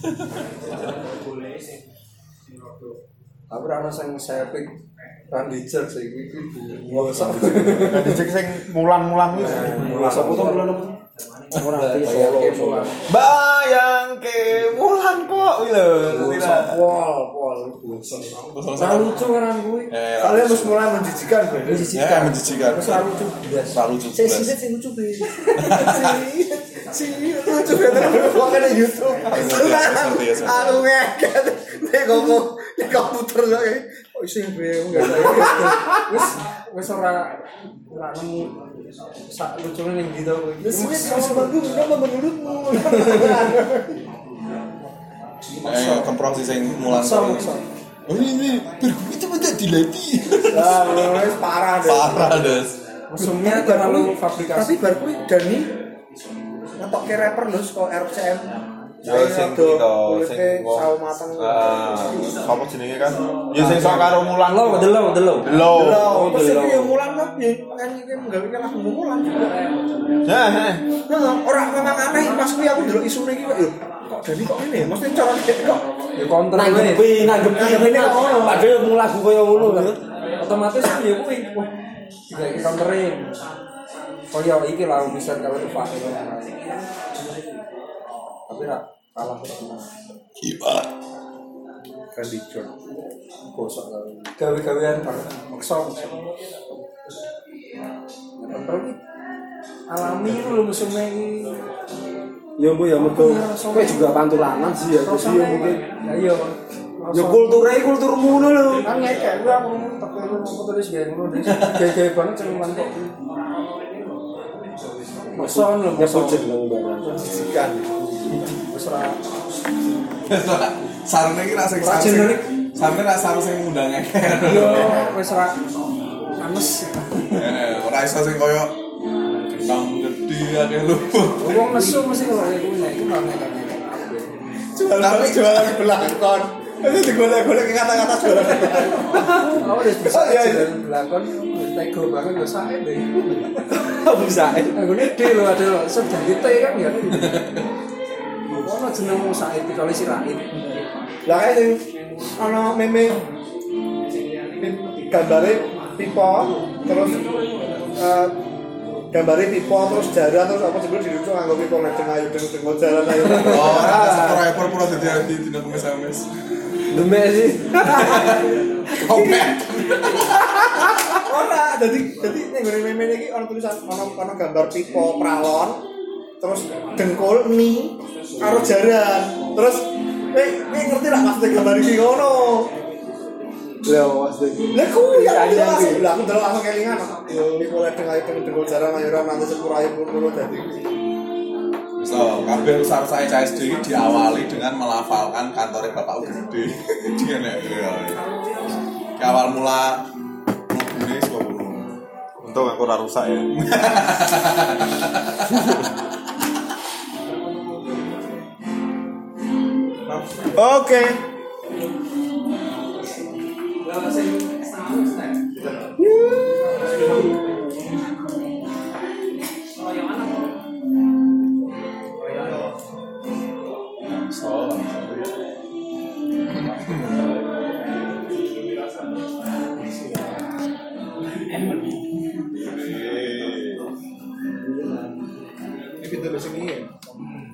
Aku ora ono sing sepik Randy Jack sing iki biasa. Randy Jack sing mulan-mulan wis. Sapa to mulan apa? Ora Solo. Bayangke mulan kok kuwi lho. Pol, pol. Ora lucu kan kuwi. Eh, Kalian harus mulai menjijikan, Bre. ya menjijikan. Ora lucu biasa. Terlalu lucu. Sing sinet sing lucu, Bre. Si lucu banget kok kene YouTube. Aku ngeket. Nek ngomong di komputer kok. Kok iso Bre enggak. Wis wis ora ora nemu sak lucune ning ndi to kuwi. Wis wis semanggu nama menurutmu. Eh kemprong sih sing mulan. Oh ini berguna itu tidak dilatih. Lah wis parah deh. Parah Des. Musuhnya terlalu fabrikasi. Tapi bar kuwi Dani ngetokke rapper lho saka R C M. Ya sing kita sing sawo mateng. Ah, apa jenenge kan? Ya sing sok karo mulan Lo, delo, delo. Lho. Lho, terus iki yo mulan kok nyanyi iki nggawe lagu mulan. Nah, nah. Nah, ora memang aneh pas kuwi aku ndelok isune iki kok yo kok Dani kok ngene ya? Mesti cara dek kok Ya konter kuwi. Nanggepi, nanggepi ngene kok. Padahal mung lagu koyo ngono lho. Otomatis ya kuwi. Wah, tidak konterin. Koyo iki lah bisa kalau Pak. Tapi ra kalah terus. Gimana? kan dicor. Gosok gawe-gawean maksa. Tapi alami itu lho musuhnya ini. Ya mbok ya mergo kowe juga pantulanan sih ya terus ya mungkin. Ya iya. Ya kulture kulturmu ngono lho. Kan ngekek gua aku tapi aku terus gawe ngono dhewe. Gawe banget cuman kok. Maksa lho Ya jeneng barang. Sisikan. Wis ora Sarene iki ra sing sarene. Sarene ra sarene sing ngundang ngekek. yo wis ora anes. Eh, ora iso sing koyo kentang gede akeh lho. Wong nesu mesti kok ya kuwi nek iku ora ngekek. Tapi jualan belakon. Itu digolek-golek kata-kata jualan. Oh, wis bisa ya belakon tego banget lho sae deh. Bisa. Aku gede lho ada lho sedang kita kan ya. Ono jenengmu sae kecuali si Raid. Lah kae sing ana meme gambare pipa terus eh gambare pipa terus jaran terus apa sebelum dirujuk nganggo pipa nek ayo deng-deng jaran ayo. Oh, subscriber pura dadi ati dina kemis-kemis. Demek sih. Komen. Ora, dadi dadi ning ngene meme iki ana tulisan ana ana gambar pipa pralon terus dengkul ni karo jaran. Terus eh eh ngerti lah maksudnya gambar iki ngono. Lah maksud. Lah kuwi ya langsung lah aku delok langsung kelingan. Iki mulai dengan itu dengkul jaran ayo ora nanti sepura ayo kulo dadi. So, kabeh rusak-rusak C S D ini diawali dengan melafalkan kantornya Bapak Gede. Dia nek ya. Awal mula ini sebuah Untung aku ora rusak ya. Oke. Ini pintu sini ya.